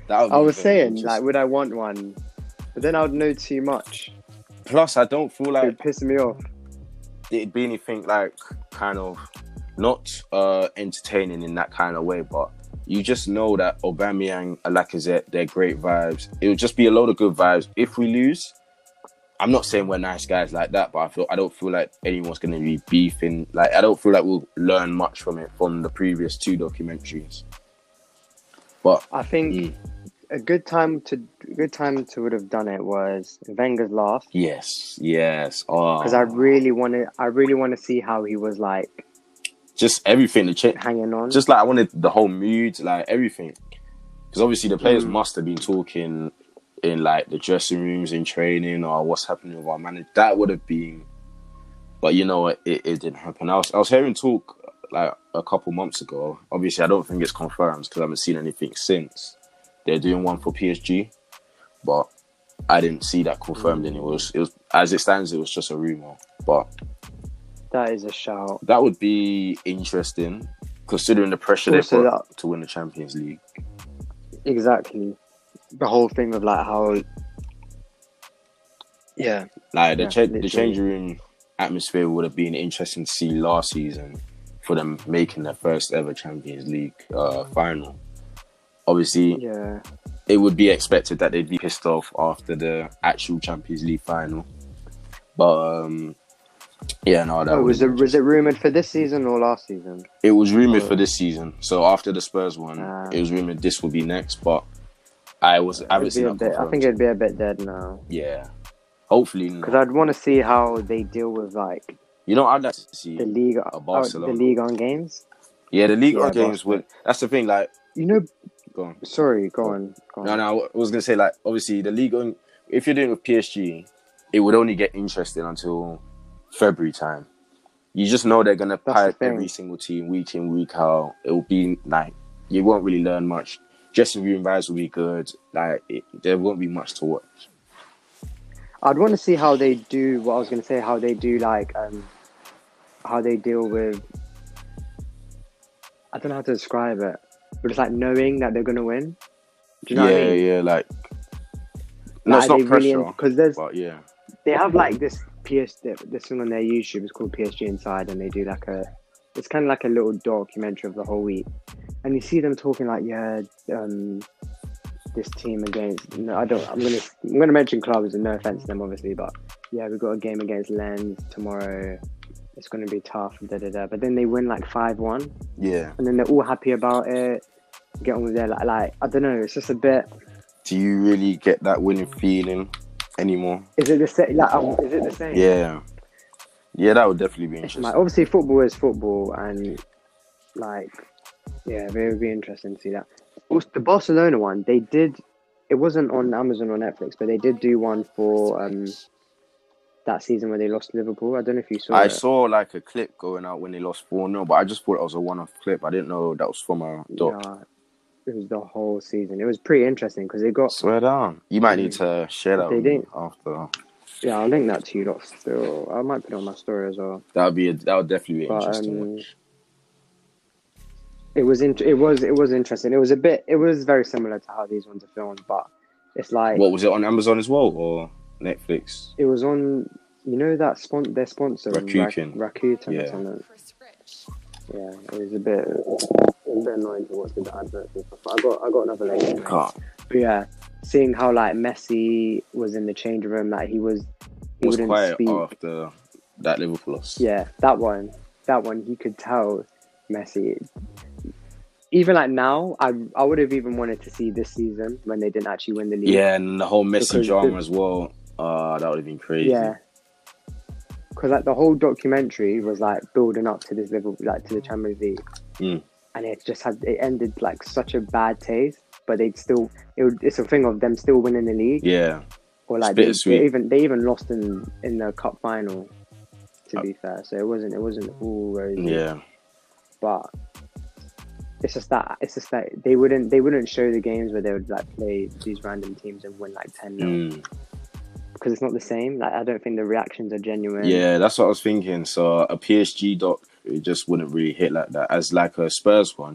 That would I be was very saying, like, interesting. would I want one? But then I would know too much. Plus, I don't feel It like would piss me off. it'd be anything like kind of not entertaining in that kind of way, but you just know that Aubameyang and Lacazette, they're great vibes. It would just be a load of good vibes. If we lose, I'm not saying we're nice guys like that, but I don't feel like anyone's going to be beefing. Like, I don't feel like we'll learn much from it from the previous 2 documentaries. But I think a good time to would have done it was Wenger's last, yes, because I really want to see how he was like just everything to change. hanging on. Just like I wanted the whole mood, like everything, because obviously the players must have been talking in like the dressing rooms, in training, or what's happening with our manager. That would have been, but you know what, it didn't happen. I was hearing talk like a couple months ago. Obviously, I don't think it's confirmed because I haven't seen anything since. They're doing one for PSG, but I didn't see that confirmed. And it was as it stands, it was just a rumor. But that is a shout. that would be interesting, considering the pressure they Also put to win the Champions League. Exactly. The whole thing of like how, Like the literally. changing room atmosphere would have been interesting to see last season for them making their first ever Champions League final. Obviously, Yeah. it would be expected that they'd be pissed off after the actual Champions League final. But Was it rumored for this season or last season? it was rumored for this season. So after the Spurs one, it was rumored this will be next. But I haven't seen that confirmed. I think it'd be a bit dead now. Yeah, hopefully not. Because I'd want to see how they deal with like You know, I'd like to see the league, Barcelona. the league on games. Yeah, the league Yeah, games would. That's the thing. Like, You know, go on. sorry, go on. No, I was gonna say, like, obviously the league on. If you're doing it with PSG, it would only get interesting until February time. You just know they're gonna That's the pipe thing. every single team week in, week out. It will be like you won't really learn much. Dressing room vibes will be good. Like there won't be much to watch. I'd want to see how they do. What I was going to say, how they do like, how they deal with. I don't know how to describe it, but it's like knowing that they're going to win. Do you know what I mean? Yeah. Like, no, it's Like, not they really- pressure. 'cause there's- but yeah, They have like this this thing on their YouTube. It's called PSG Inside, and they do like it's kind of like a little documentary of the whole week, and you see them talking like, this team against. No, I'm gonna mention clubs, and no offense to them, obviously, but yeah, we've got a game against Lens tomorrow. It's gonna be tough. But then they win like 5-1, yeah. and then they're all happy about it. Get on with their like I don't know. It's just a bit. Do you really get that winning feeling anymore? Is it the same? Like, is it the same? Yeah, that would definitely be interesting. Like, obviously, football is football, and like, yeah, it would be interesting to see that. Also, the Barcelona one, they did. It wasn't on Amazon or Netflix, but they did do one for that season where they lost to Liverpool. I don't know if you saw. I it. saw like a clip going out when they lost 4-0, but I just thought it was a one-off clip. I didn't know that was from a doc. Yeah, it was the whole season. It was pretty interesting because they got. Swear down. You might need to share that They with me didn't. after. Yeah, I'll link that to you lot still. I might put it on my story as well. That would definitely be But, interesting. It was interesting. It was very similar to how these ones are filmed, but it's like What was it on Amazon as well or Netflix? it was on. You know that their sponsor Rakuten. Rakuten Yeah. or something. Yeah, it was a bit annoying to watch the adverts and stuff. But I got another link. anyway. Can't. But yeah, seeing how like Messi was in the change room, like he Was wouldn't quiet speak. after that Liverpool loss. Yeah, that one, you could tell Messi. Even like now, I would have even wanted to see this season when they didn't actually win the league. Yeah, and the whole Messi Because drama as well. That would have been crazy. Yeah. Because like the whole documentary was like building up to this Liverpool, like to the Champions League, and it ended like such a bad taste. But it's a thing of them still winning the league. Yeah. Or like It's they bittersweet. even lost in the cup final. To be fair, so it wasn't all rosy. Yeah. But it's just that they wouldn't show the games where they would like play these random teams and win like 10-0 because it's not the same. Like I don't think the reactions are genuine. Yeah, that's what I was thinking. So a PSG doc, it just wouldn't really hit like that. As like a Spurs one,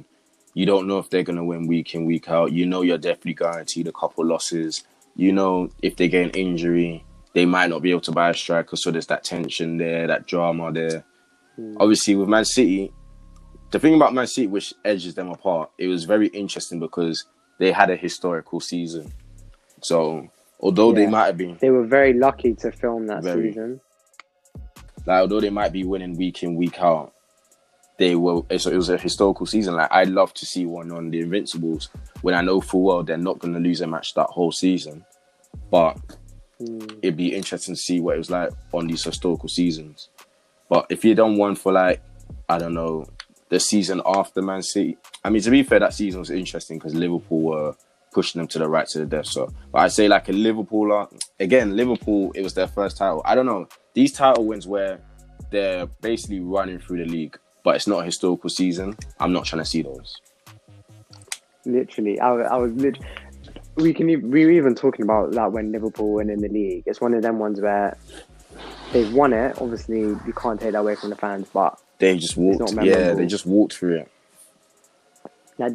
You don't know if they're going to win week in, week out. You know you're definitely guaranteed a couple losses. You know if they get an injury, they might not be able to buy a striker, so there's that tension there, that drama there. Obviously, with Man City, the thing about Man City which edges them apart, it was very interesting because they had a historical season. So, although they might have been... They were very lucky to film that season. Like, although they might be winning week in, week out, it was a historical season. Like, I'd love to see one on the Invincibles when I know full well they're not going to lose a match that whole season. But it'd be interesting to see what it was like on these historical seasons. But if you done one for, like, I don't know, the season after Man City, I mean, to be fair, that season was interesting because Liverpool were pushing them to the right to the death. So, but I'd say like a Liverpool, again, Liverpool, it was their first title. I don't know. These title wins where they're basically running through the league, but it's not a historical season. I'm not trying to see those. Literally, I was literally... We were even talking about that when Liverpool win in the league. It's one of them ones where they've won it. Obviously, you can't take that away from the fans, but they just walked. Yeah, they just walked through it. Like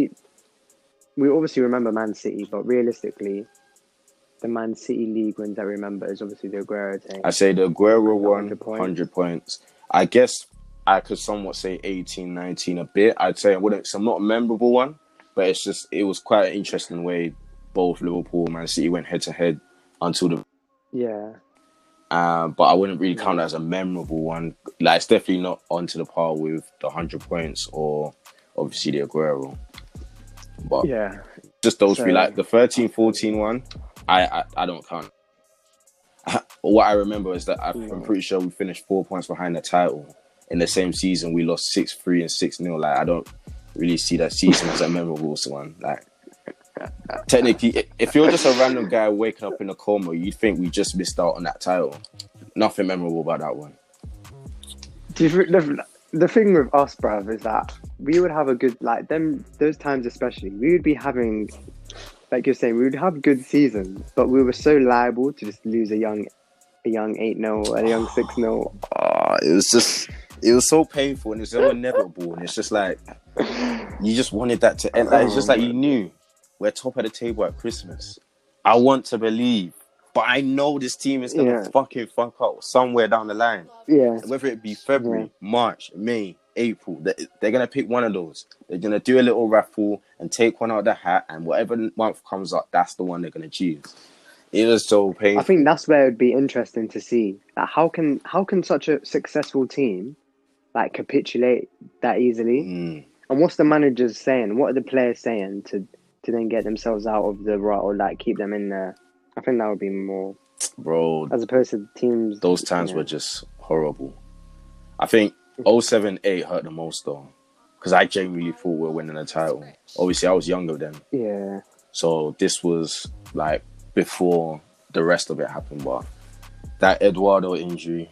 we obviously remember Man City, but realistically, the Man City league wins that we remember is obviously the Aguero thing. I say the Aguero won 100 points. I guess I could somewhat say 18, 19 a bit. I'd say it's not a memorable one, but it was quite an interesting way both Liverpool and Man City went head to head until the... Yeah. But I wouldn't really count that as a memorable one. Like, it's definitely not onto the par with the 100 points or obviously the Aguero. But just those three. Like the 13-14 one, I don't count. What I remember is that I'm pretty sure we finished 4 points behind the title. In the same season, we lost 6-3 and 6-0. Like, I don't really see that season as a memorable one. Like, technically, if you're just a random guy waking up in a coma, you'd think we just missed out on that title. Nothing memorable about that one. The thing with us, bruv, is that we would have a good, like, those times especially, we would be having, like you're saying, we would have good seasons, but we were so liable to just lose a young 8-0, a young 6-0. It was so painful and it's so inevitable, and it's just like, you just wanted that to end. Like, it's just like you knew we're top of the table at Christmas. I want to believe, but I know this team is going to fucking fuck up somewhere down the line. Yeah. Whether it be February, March, May, April, they're going to pick one of those. They're going to do a little raffle and take one out of the hat, and whatever month comes up, that's the one they're going to choose. It was so painful. I think that's where it'd be interesting to see. Like, how can such a successful team like capitulate that easily? And what's the managers saying? What are the players saying to then get themselves out of the rut or like keep them in there? I think that would be more, bro, as opposed to teams. Those times were just horrible. I think 07-08 hurt the most though, because I genuinely thought we were winning the title. Obviously, I was younger then. Yeah. So this was like before the rest of it happened, but that Eduardo injury,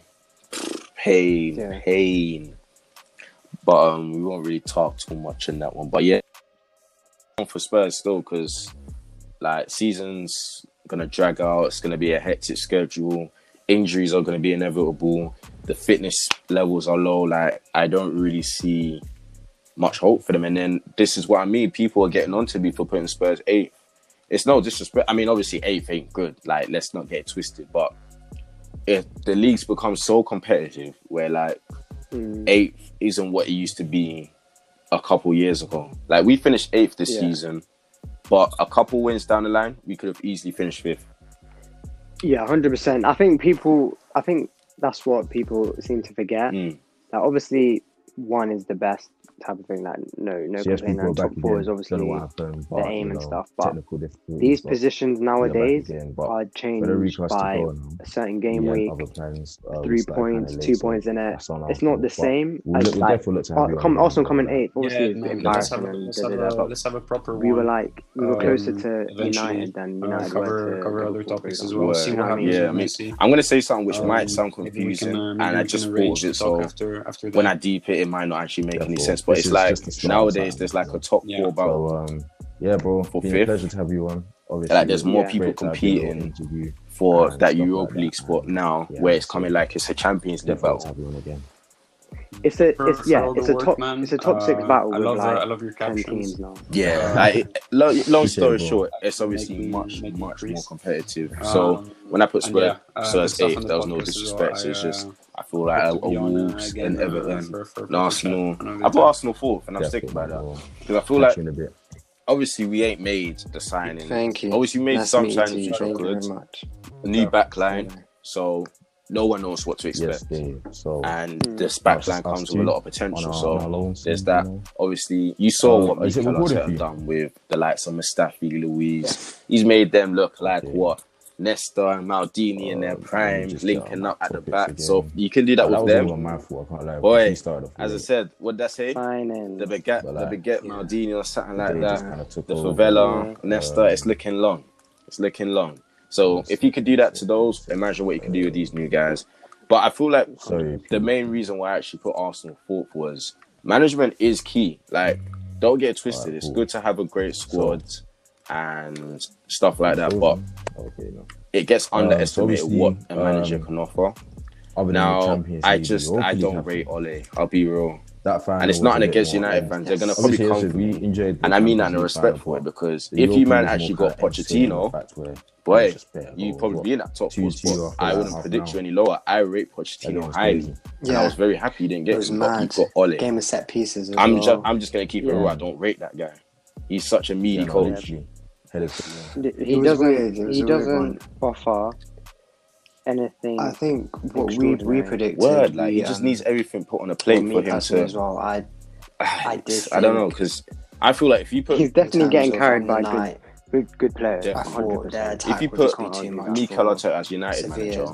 pain. But we won't really talk too much in that one. But yeah, for Spurs still, because like season's gonna drag out. It's gonna be a hectic schedule. Injuries are gonna be inevitable. The fitness levels are low. Like, I don't really see much hope for them. And then this is what I mean. People are getting onto me for putting Spurs 8th. It's no disrespect. I mean, obviously 8th ain't good. Like, let's not get it twisted. But if the league's become so competitive where like 8th isn't what it used to be a couple years ago. Like, we finished 8th this season, but a couple wins down the line, we could have easily finished 5th. Yeah, 100%. I think that's what people seem to forget. Like, obviously, 1 is the best type of thing. Like, no complaint. And top 4 is obviously the aim and stuff. But these positions nowadays are changed by a certain game week. 3 points, 2 points in it. It's not the same as like Arsenal coming 8th. Obviously, let's have a proper we one. We were closer to United than United. Cover other topics as well. See what happens. I'm going to say something which might sound confusing, and I just thought of it. So when I deep it might not actually make any sense. But it's like nowadays there's like a top 4 about bro, for 5th. Pleasure to have you on. Obviously, like, there's more people competing for that Europa League spot now, where it's coming like it's a Champions League battle. it's a top 6 battle with I love your 10 captions. teams now. Yeah, long story bro. short, it's obviously Make me much more increase. competitive. So when I put Spurs stuff eighth, on the there was no podcast as disrespect. well. It's just I feel like a to be on, Wolves again, and Everton, for and Arsenal. chat. I know I put they Arsenal fourth, and I'm sticking by that because I feel like in a bit. obviously we ain't made the signing. Thank you. Obviously we made Nice some to meet signings you. which are Thank you good. very much. A new backline, so no one knows what to expect. Yes, yeah. So And this backline comes with a lot of potential. on our So loans, there's you that. know. Obviously, you saw what is it Mikel recorded for Arteta you? done with the likes of Mustafi, Luiz. He's made them look like what Nesta and Maldini in their prime, just linking get up at the topics back. again. So you can do that with was them. all on my fault, I can't lie. Boy, He started off as I late. said, what did I say? Signing. The Baguette Maldini or something like They that. just kinda took The over. Favela, Nesta. It's looking long. It's looking long. So if you could do that to those, imagine what you can do with these new guys. But I feel like the main reason why I actually put Arsenal fourth was management is key. Like, don't get it twisted. It's good to have a great squad and stuff like that, but it gets underestimated what a manager can offer. Now, I don't rate Ole. I'll be real. And it's nothing against United fans. They're going to probably come for me. And I mean that in respect for it, because if you man actually got Pochettino, boy, you'd probably be in that top 4 spot. I wouldn't predict you any lower. I rate Pochettino highly. And I was very happy he didn't get him, but you got Ole. Game of set pieces as I'm well. just going to keep it real. I don't rate that guy. He's such a meaty coach. He doesn't offer anything. I think what we predicted. He just needs everything put on a plate for him to. As well. I don't know, because I feel like if you put, he's definitely getting carried by good players. If you put Mikel Arteta as United manager,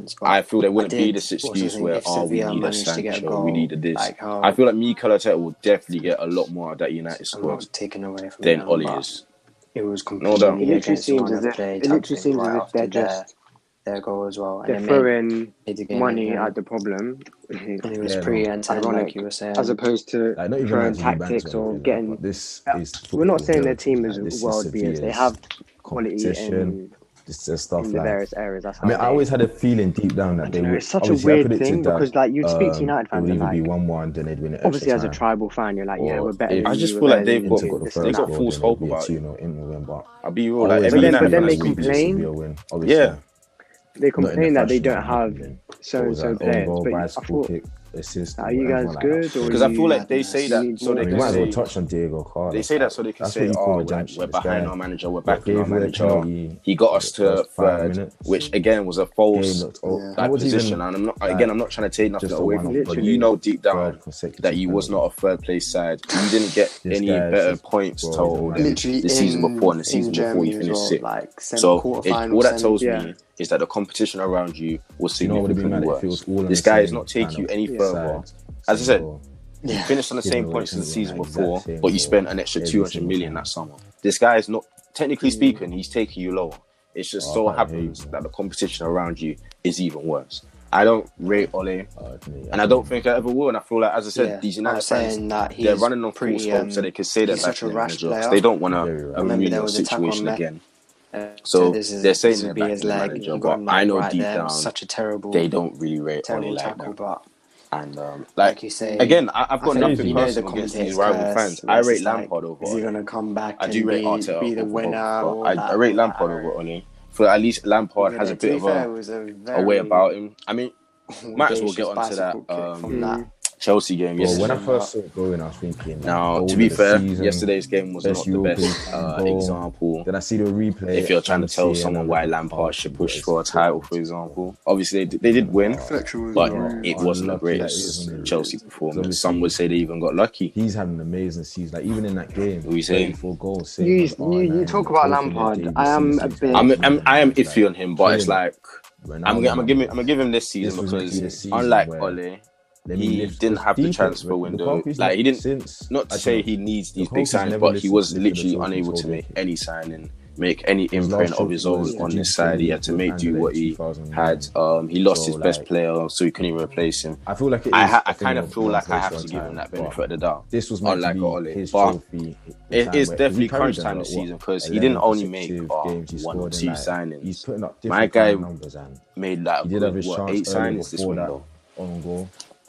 I feel there wouldn't be this excuse where we need a Sancho, we need a this. I feel like Mikel Arteta will definitely get a lot more of that United squad than Ole is. It was completely it literally seems as if they're just their goal as well. They're throwing money at the problem. And it was pretty ironic, like you were saying, as opposed to throwing tactics or getting. We're not saying their team is world beaters. They have quality in stuff in the various areas. That's how I always had a feeling deep down that they would. It's such a weird thing because, like, you'd speak to United fans and, like, be 1-1, then they'd win it. Obviously, as a tribal fan, you're like, yeah, we're better. I just feel like they've got false hope about it. I'll be real. Like, but then they complain. Yeah. They complain that they don't have so-and-so players. But I thought, are you guys good? Because I feel like they say that so they can say, touch on Diego Carlos. They say that so they can say, we're behind our manager, we're backing our manager. He got us to third, which again was a false position. And I'm not trying to take nothing away from it, but you know deep down that he was not a third place side. You didn't get any better points told the season before and the season before you finished sixth. So all that tells me is that the competition around you was significantly worse. This guy is not taking you any further. As I said, you finished on the same points as the season before, but you spent an extra 200 million that summer. This guy is not, technically speaking, he's taking you lower. It just so happens that the competition around you is even worse. I don't rate Ole, and I don't think I ever will. And I feel like, as I said, these United fans, they're running on full scope so they can say they're back in the manager. They don't want a real situation again. So they're saying they're back in the manager, but I know deep down they don't really rate Ole like that. And like you say, again, I've got nothing personal against these rival fans. I rate Lampard over Ole. Is he gonna come back? I do rate Arteta be the winner. I rate Lampard over Ole. For at least Lampard has a bit of a way about him. I mean, might as well get onto that Chelsea game yesterday. When I first saw it going, I was thinking. Now, to be fair, yesterday's game was not the best example. Then I see the replay. If you're trying to tell someone why Lampard should push for a title, for example, obviously they did win, but it wasn't the greatest Chelsea performance. Some would say they even got lucky. He's had an amazing season. Like even in that game, we say 4 goals. You talk about Lampard. I am iffy on him, but it's like I'm gonna give him this season because unlike Ole, he didn't have the transfer window. Like he didn't. Not to say he needs these big signings, but he was literally unable to make any signing, make any imprint of his own on this side. He had to make do what he had. He lost his best player, so he couldn't even replace him. I feel like I kind of feel like I have to give him that benefit of the doubt. This was unlike Ole, but it is definitely crunch time this season because he didn't only make 1 or 2 signings. My guy made like 8 signings this window. On goal.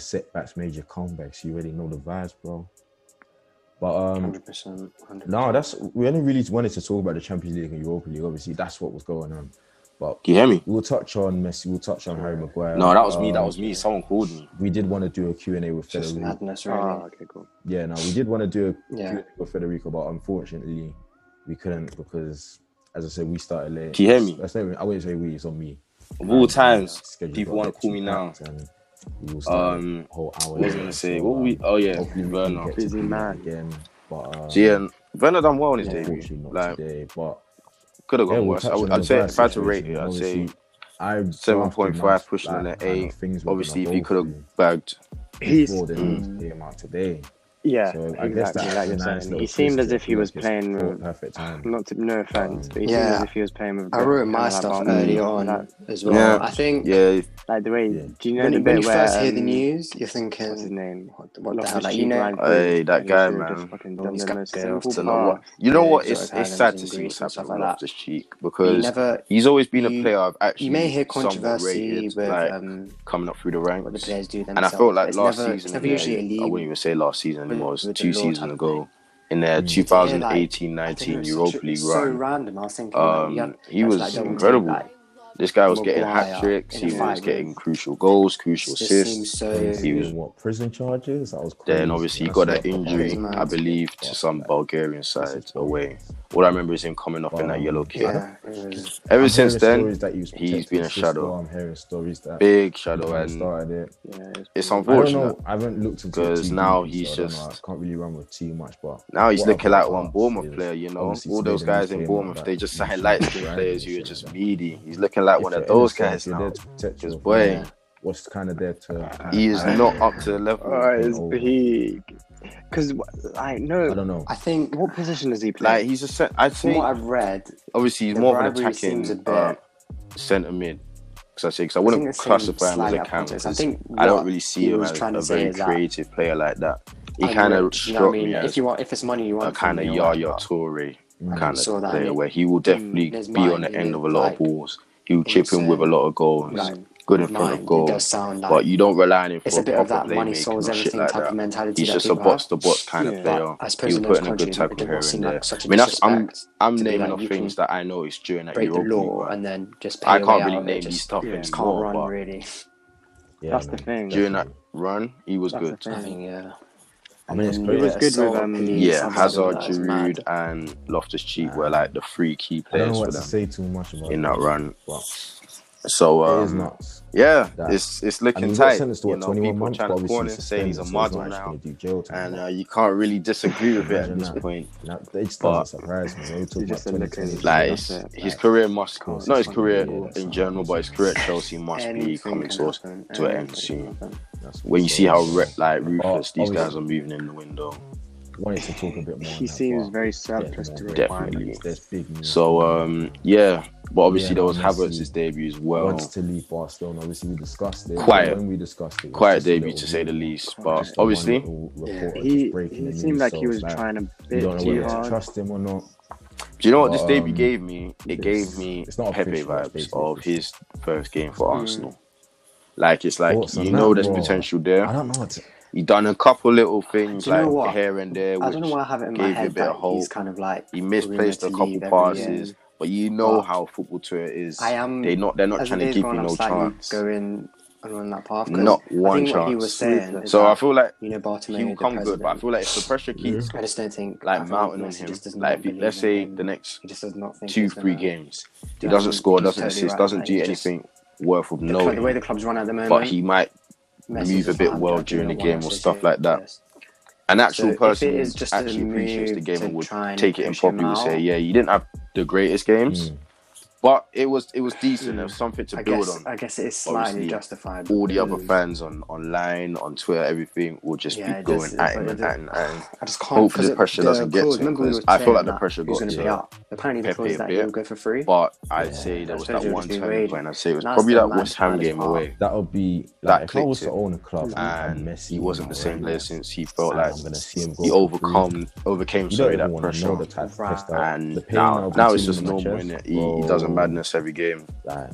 setbacks, major comebacks. You already know the vibes, bro. But 100%. no, we only really wanted to talk about the Champions League and Europa League. Obviously, that's what was going on. But can you hear me? We'll touch on Messi. We'll touch on Harry Maguire. No, that was me. That was me. Someone called me. We did want to do a Q&A with Just Federico. madness, really. Okay, cool. Yeah, no, we did want to do a Yeah. Q&A with Federico, but unfortunately, we couldn't because, as I said, we started late. Can you hear me? I wouldn't say we. It's on me. Of all times, Schedule people got want to call me now. and we will start a whole hour. What was I gonna say? What we? Oh yeah, hopefully we Werner. can get Busy to man. again. But So yeah, Werner done well in his debut. unfortunately not Like, today. But could have gone we'll worse. touch on I'd the say Maguire if I had to rate situation. it, I'd Obviously, say I 7.5 pushing like, an kind of 8. things we're Obviously, if gonna he go could through. have bagged before they came out today. Yeah, so I guess exactly. Like you're nice saying, he seemed as if he was playing with perfect time. No offense, but he seemed as if he was playing with. I wrote my stuff early on as well. Yeah. I think. Yeah. Like the way. Do you know when you where, first hear the news, you're thinking, what's his name? What the hell? Like, you know, hey, that guy, man. You know what? It's sad to see what's happening with Loftus-Cheek because he's always been a player I've actually. You may hear controversy rated, with like, coming up through the ranks. What the players do themselves. And I felt like last season, season, I wouldn't even say last season anymore. It was 2 seasons ago. In their 2018-19 Europa League run, so random. I was thinking, he was incredible. This guy was getting hat tricks. He was getting crucial goals, crucial assists. He was what, prison charges? That was crazy. Then obviously he got that injury, I believe, to some Bulgarian side away. All I remember is him coming off in that yellow kit. Ever since then, he's been a shadow. I'm hearing stories that big shadow, and it's unfortunate. I haven't looked into because now he's just. I can't really run with too much, but now he's looking like one Bournemouth player. You know, all those guys in Bournemouth, they just sign light skin players who are just meaty. He's looking like one of those guys now. Because boy, what's kind of there to? He is not up to the level. It's big. Because I don't know. I think what position does he play? Like he's a set. I think from what I've read, obviously he's more of an attacking centre mid. Because I wouldn't classify him as a cam. I don't really see him as a very creative player like that. He kind of struck me as if it's money you want, a kind of Yaya Toure kind of player where he will definitely be on the end of a lot of balls. He will chip in with a lot of goals. Good in front of goal, but you don't rely on him for a proper playmaking or shit like that. He's just a box-to-box kind of player. He'll put in a good tackle here and there. I mean, I'm naming off things that I know is during that Europa League, and then just I can't really name these stuff anymore. Can't run really. That's the thing. During that run, he was good. I think, I mean, it's he was good with Hazard, Giroud, and Loftus-Cheek were like the 3 key players. I don't know what to say too much about in that run. So it's looking tight. You know, people trying to corner and say he's a model now, and you can't really disagree with it at this point. It just doesn't surprise me. Like his career must, not his career in general, but his career at Chelsea must be coming to an end soon. When you see how ruthless these guys are moving in the window. Wanted to talk a bit more. He seems very surplus to definitely. So but obviously there was Havertz's debut as well. Wants to leave Barcelona. Obviously we discussed it. Quiet debut to say the least. But obviously, he seemed like he was trying a bit too hard. Trust him or not. Do you know what this debut gave me? It gave me Pepe vibes of his first game for Arsenal. Like it's like there's potential there. I don't know what. He done a couple little things like here and there, which I don't know why I have it in my head that he's kind of like he misplaced a couple passes, but you know how football Twitter is. They're not trying to give you no chance. Going on that path, not one chance. He was saying so I feel like Bartomeu he will come good, but I feel like if the pressure keeps, I just don't think mounting on him. Like let's say the next 2-3 games, he doesn't score, doesn't assist, doesn't do anything worth of noting. The way the club's run at the moment, but he might move a bit well during the game or stuff like that. An actual person who actually appreciates the game and would take it in properly would say, yeah, you didn't have the greatest games, but it was decent. There was something to build on. I guess it is slightly justified. All the other fans online, on Twitter, everything will just be going at him and I just can't. Hopefully the pressure doesn't get to him. I feel like the pressure got to apparently the clause that he'll go for free. But I'd say there was that one turning point. I'd say it was probably that West Ham game away. That would be that if I was to own a club and Messi, he wasn't the same player since he felt like he overcame that pressure. And now it's just normal, innit? He does a madness every game.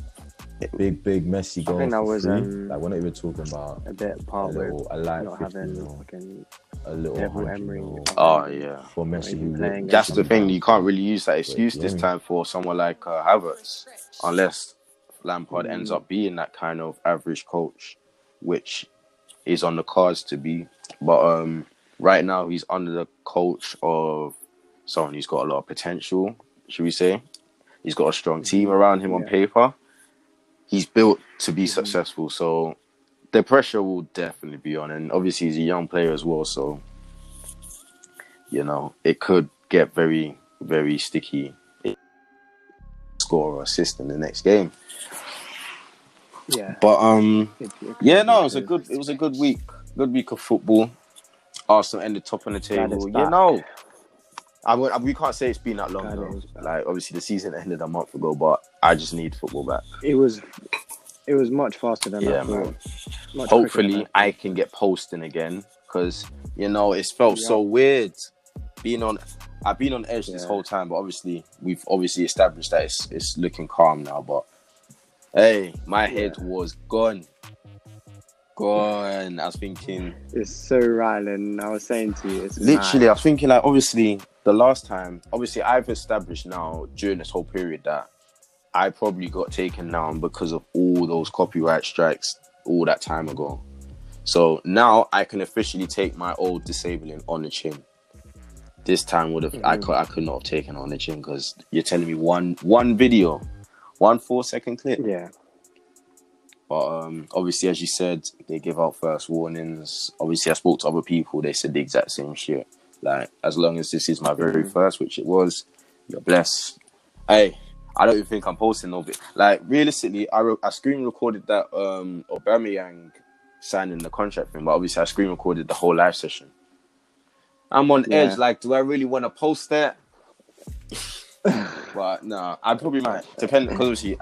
Big Messi going. I think that was like we're not even talking about a bit part with not 50, having a little Emery. For Messi, that's the thing. You can't really use that excuse this time for someone like Havertz, unless Lampard ends up being that kind of average coach, which is on the cards to be. But right now he's under the coach of someone who's got a lot of potential, should we say? He's got a strong team around him on paper. He's built to be successful, so the pressure will definitely be on. And obviously, he's a young player as well, so it could get very, very sticky. Score or assist in the next game. Yeah, but it was a good week. Good week of football. Arsenal ended top on the table. You know, we can't say it's been that long though. Like, obviously, the season ended a month ago, but I just need football back. It was much faster than I thought. Hopefully, I can get posting again because, you know, it's felt so weird I've been on edge this whole time, but obviously, we've established that it's looking calm now. But hey, my head was gone. I was thinking, it's so Ryland. I was saying to you, it's literally mad. I was thinking, like, obviously the last time, obviously I've established now during this whole period that I probably got taken down because of all those copyright strikes all that time ago. So now I can officially take my old disabling on the chin. This time I could not have taken on the chin because you're telling me one video, 1 4-second clip. Yeah. But obviously, as you said, they give out first warnings. Obviously, I spoke to other people. They said the exact same shit. Like, as long as this is my very first, which it was, you're blessed. Hey, I don't even think I'm posting no bit. Like, realistically, I screen recorded that Aubameyang signing the contract thing, but obviously I screen recorded the whole live session. I'm on edge. Like, do I really want to post that? But no, I probably might. Depending, because obviously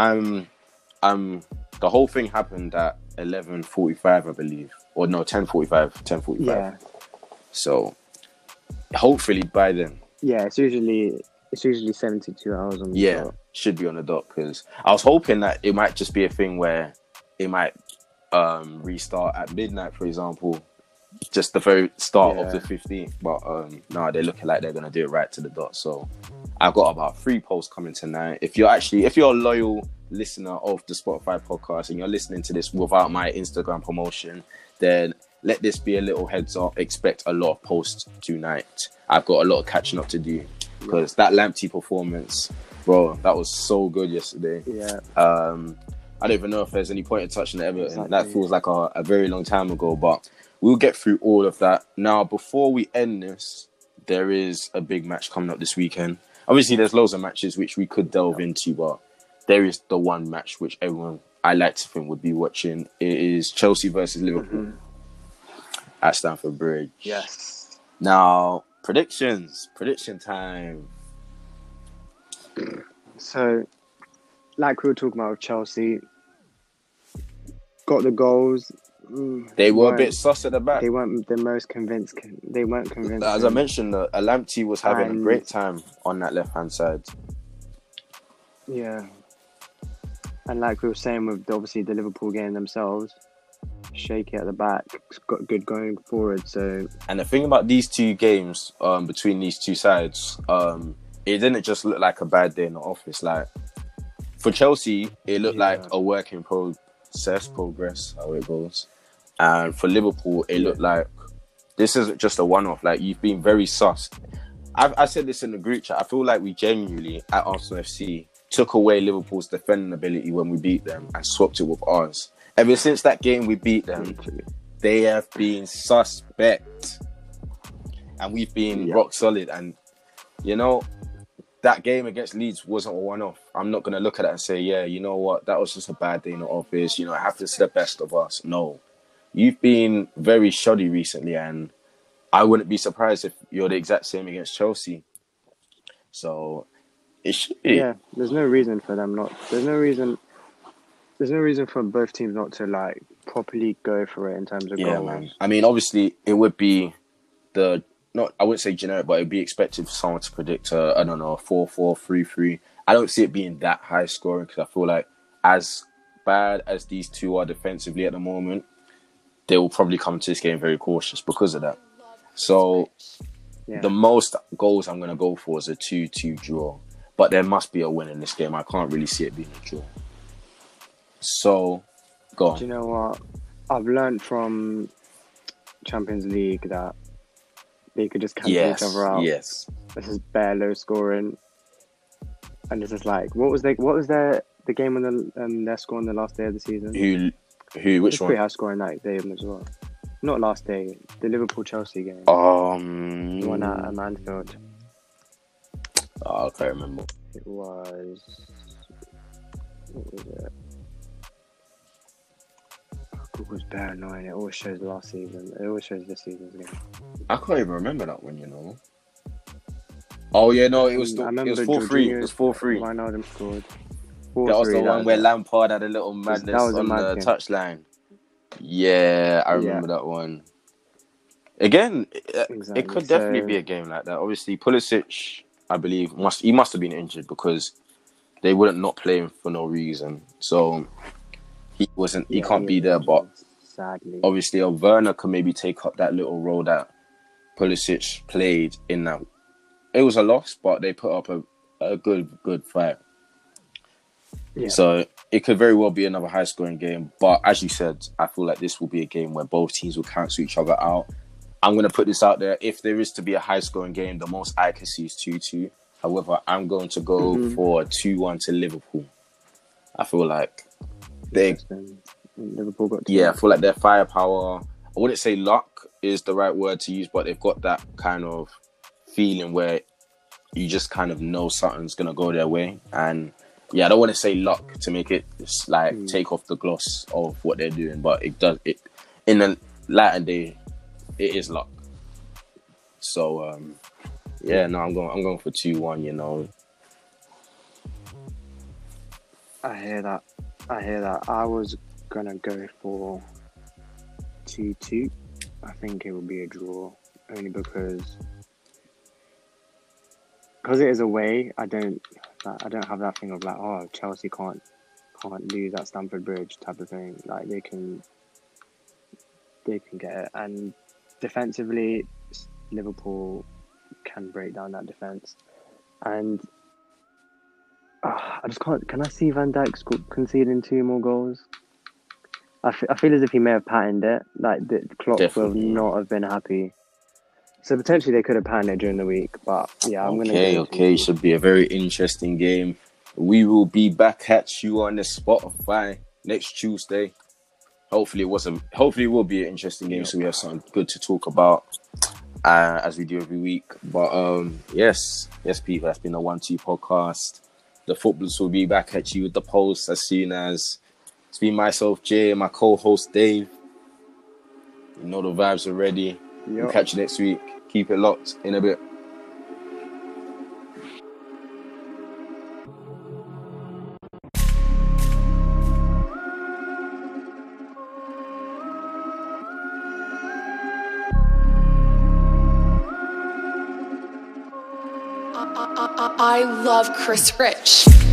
the whole thing happened at 11:45, I believe, or no, 10:45. Yeah. So hopefully by then. Yeah, it's usually 72 hours on the dot. Should be on the dot because I was hoping that it might just be a thing where it might restart at midnight, for example, just the very start of the 15th. But no, they're looking like they're gonna do it right to the dot. So I've got about 3 posts coming tonight. If you're a loyal listener of the Spotify podcast and you're listening to this without my Instagram promotion, then let this be a little heads up. Expect a lot of posts tonight. I've got a lot of catching up to do because that Lamptey performance, bro, that was so good yesterday. Yeah. I don't even know if there's any point in touching the Everton. Exactly. That feels like a very long time ago, but we'll get through all of that. Now, before we end this, there is a big match coming up this weekend. Obviously, there's loads of matches which we could delve into, but there is the one match which everyone, I like to think, would be watching. It is Chelsea versus Liverpool at Stamford Bridge. Yes. Now, prediction time. So, like we were talking about with Chelsea, got the goals. They were a bit sus at the back. They weren't the most convinced. They weren't convinced. As I mentioned, Lamptey was having a great time on that left-hand side. Yeah. And like we were saying with obviously the Liverpool game themselves, shaky at the back, got good going forward. So, and the thing about these two games, between these two sides, it didn't just look like a bad day in the office. Like for Chelsea, it looked like a work in progress, how it goes. And for Liverpool, it looked like this isn't just a one-off. Like, you've been very sus. I said this in the group chat. I feel like we genuinely, at Arsenal FC, took away Liverpool's defending ability when we beat them and swapped it with ours. Ever since that game we beat them, they have been suspect. And we've been rock solid. And, you know, that game against Leeds wasn't a one-off. I'm not going to look at it and say, yeah, you know what, that was just a bad day in the office. You know, it happens to the best of us. No. You've been very shoddy recently, and I wouldn't be surprised if you're the exact same against Chelsea. So, it should be. Yeah, there's no reason for them not... There's no reason for both teams not to, like, properly go for it in terms of goals. Man. I mean, obviously, it would be I wouldn't say generic, but it'd be expected for someone to predict a 4-4, 3-3. I don't see it being that high scoring because I feel like as bad as these two are defensively at the moment, they will probably come to this game very cautious because of that. So the most goals I'm going to go for is a 2-2 draw. But there must be a win in this game. I can't really see it being a draw. So, go on. Do you know what? I've learned from Champions League that they could just cancel each other out. Yes. This is bare low scoring. And this is like, what was the game when they're scoring the last day of the season? Which one? Pretty high scoring that day as well. Not last day, the Liverpool-Chelsea game. The one at Anfield. I can't remember. It was... What was it? was bare annoying. It always shows last season. It always shows this season's game. I can't even remember that one, you know. Oh yeah, no, it was 4-3. It was 4-3. Wijnaldum scored. That was the one where Lampard had a little madness on the touchline. Yeah, I remember that one. Again, it could definitely be a game like that. Obviously, Pulisic, I believe, must have been injured because they wouldn't not play him for no reason. So he can't be there. But sadly, obviously, Werner can maybe take up that little role that Pulisic played in that. It was a loss, but they put up a good fight. Yeah. So it could very well be another high-scoring game. But as you said, I feel like this will be a game where both teams will cancel each other out. I'm going to put this out there. If there is to be a high-scoring game, the most I can see is 2-2. However, I'm going to go for 2-1 to Liverpool. I feel like Liverpool got I feel like their firepower, I wouldn't say luck is the right word to use, but they've got that kind of feeling where you just kind of know something's going to go their way. And yeah, I don't want to say luck to make it like take off the gloss of what they're doing, but it does. It in the latter day, it is luck. So I'm going for 2-1. You know, I hear that. I was gonna go for 2-2. I think it will be a draw, only because it is away. I don't have that thing of like, oh, Chelsea can't lose at Stamford Bridge type of thing. Like they can get it, and defensively, Liverpool can break down that defense. And I just can't. Can I see Van Dijk conceding 2 more goals? I feel as if he may have patterned it. Like the Klopp will not have been happy. So potentially they could have panned it during the week, but yeah, I'm gonna. Okay, should be a very interesting game. We will be back at you on the Spotify next Tuesday. Hopefully it will be an interesting game, so we have something good to talk about as we do every week. But yes, people, that's been a 1-2 podcast. The footballers will be back at you with the post as soon as it's been myself, Jay, and my co-host Dave. You know the vibes already. We'll catch you next week. Keep it locked in a bit. I love Chris Rich.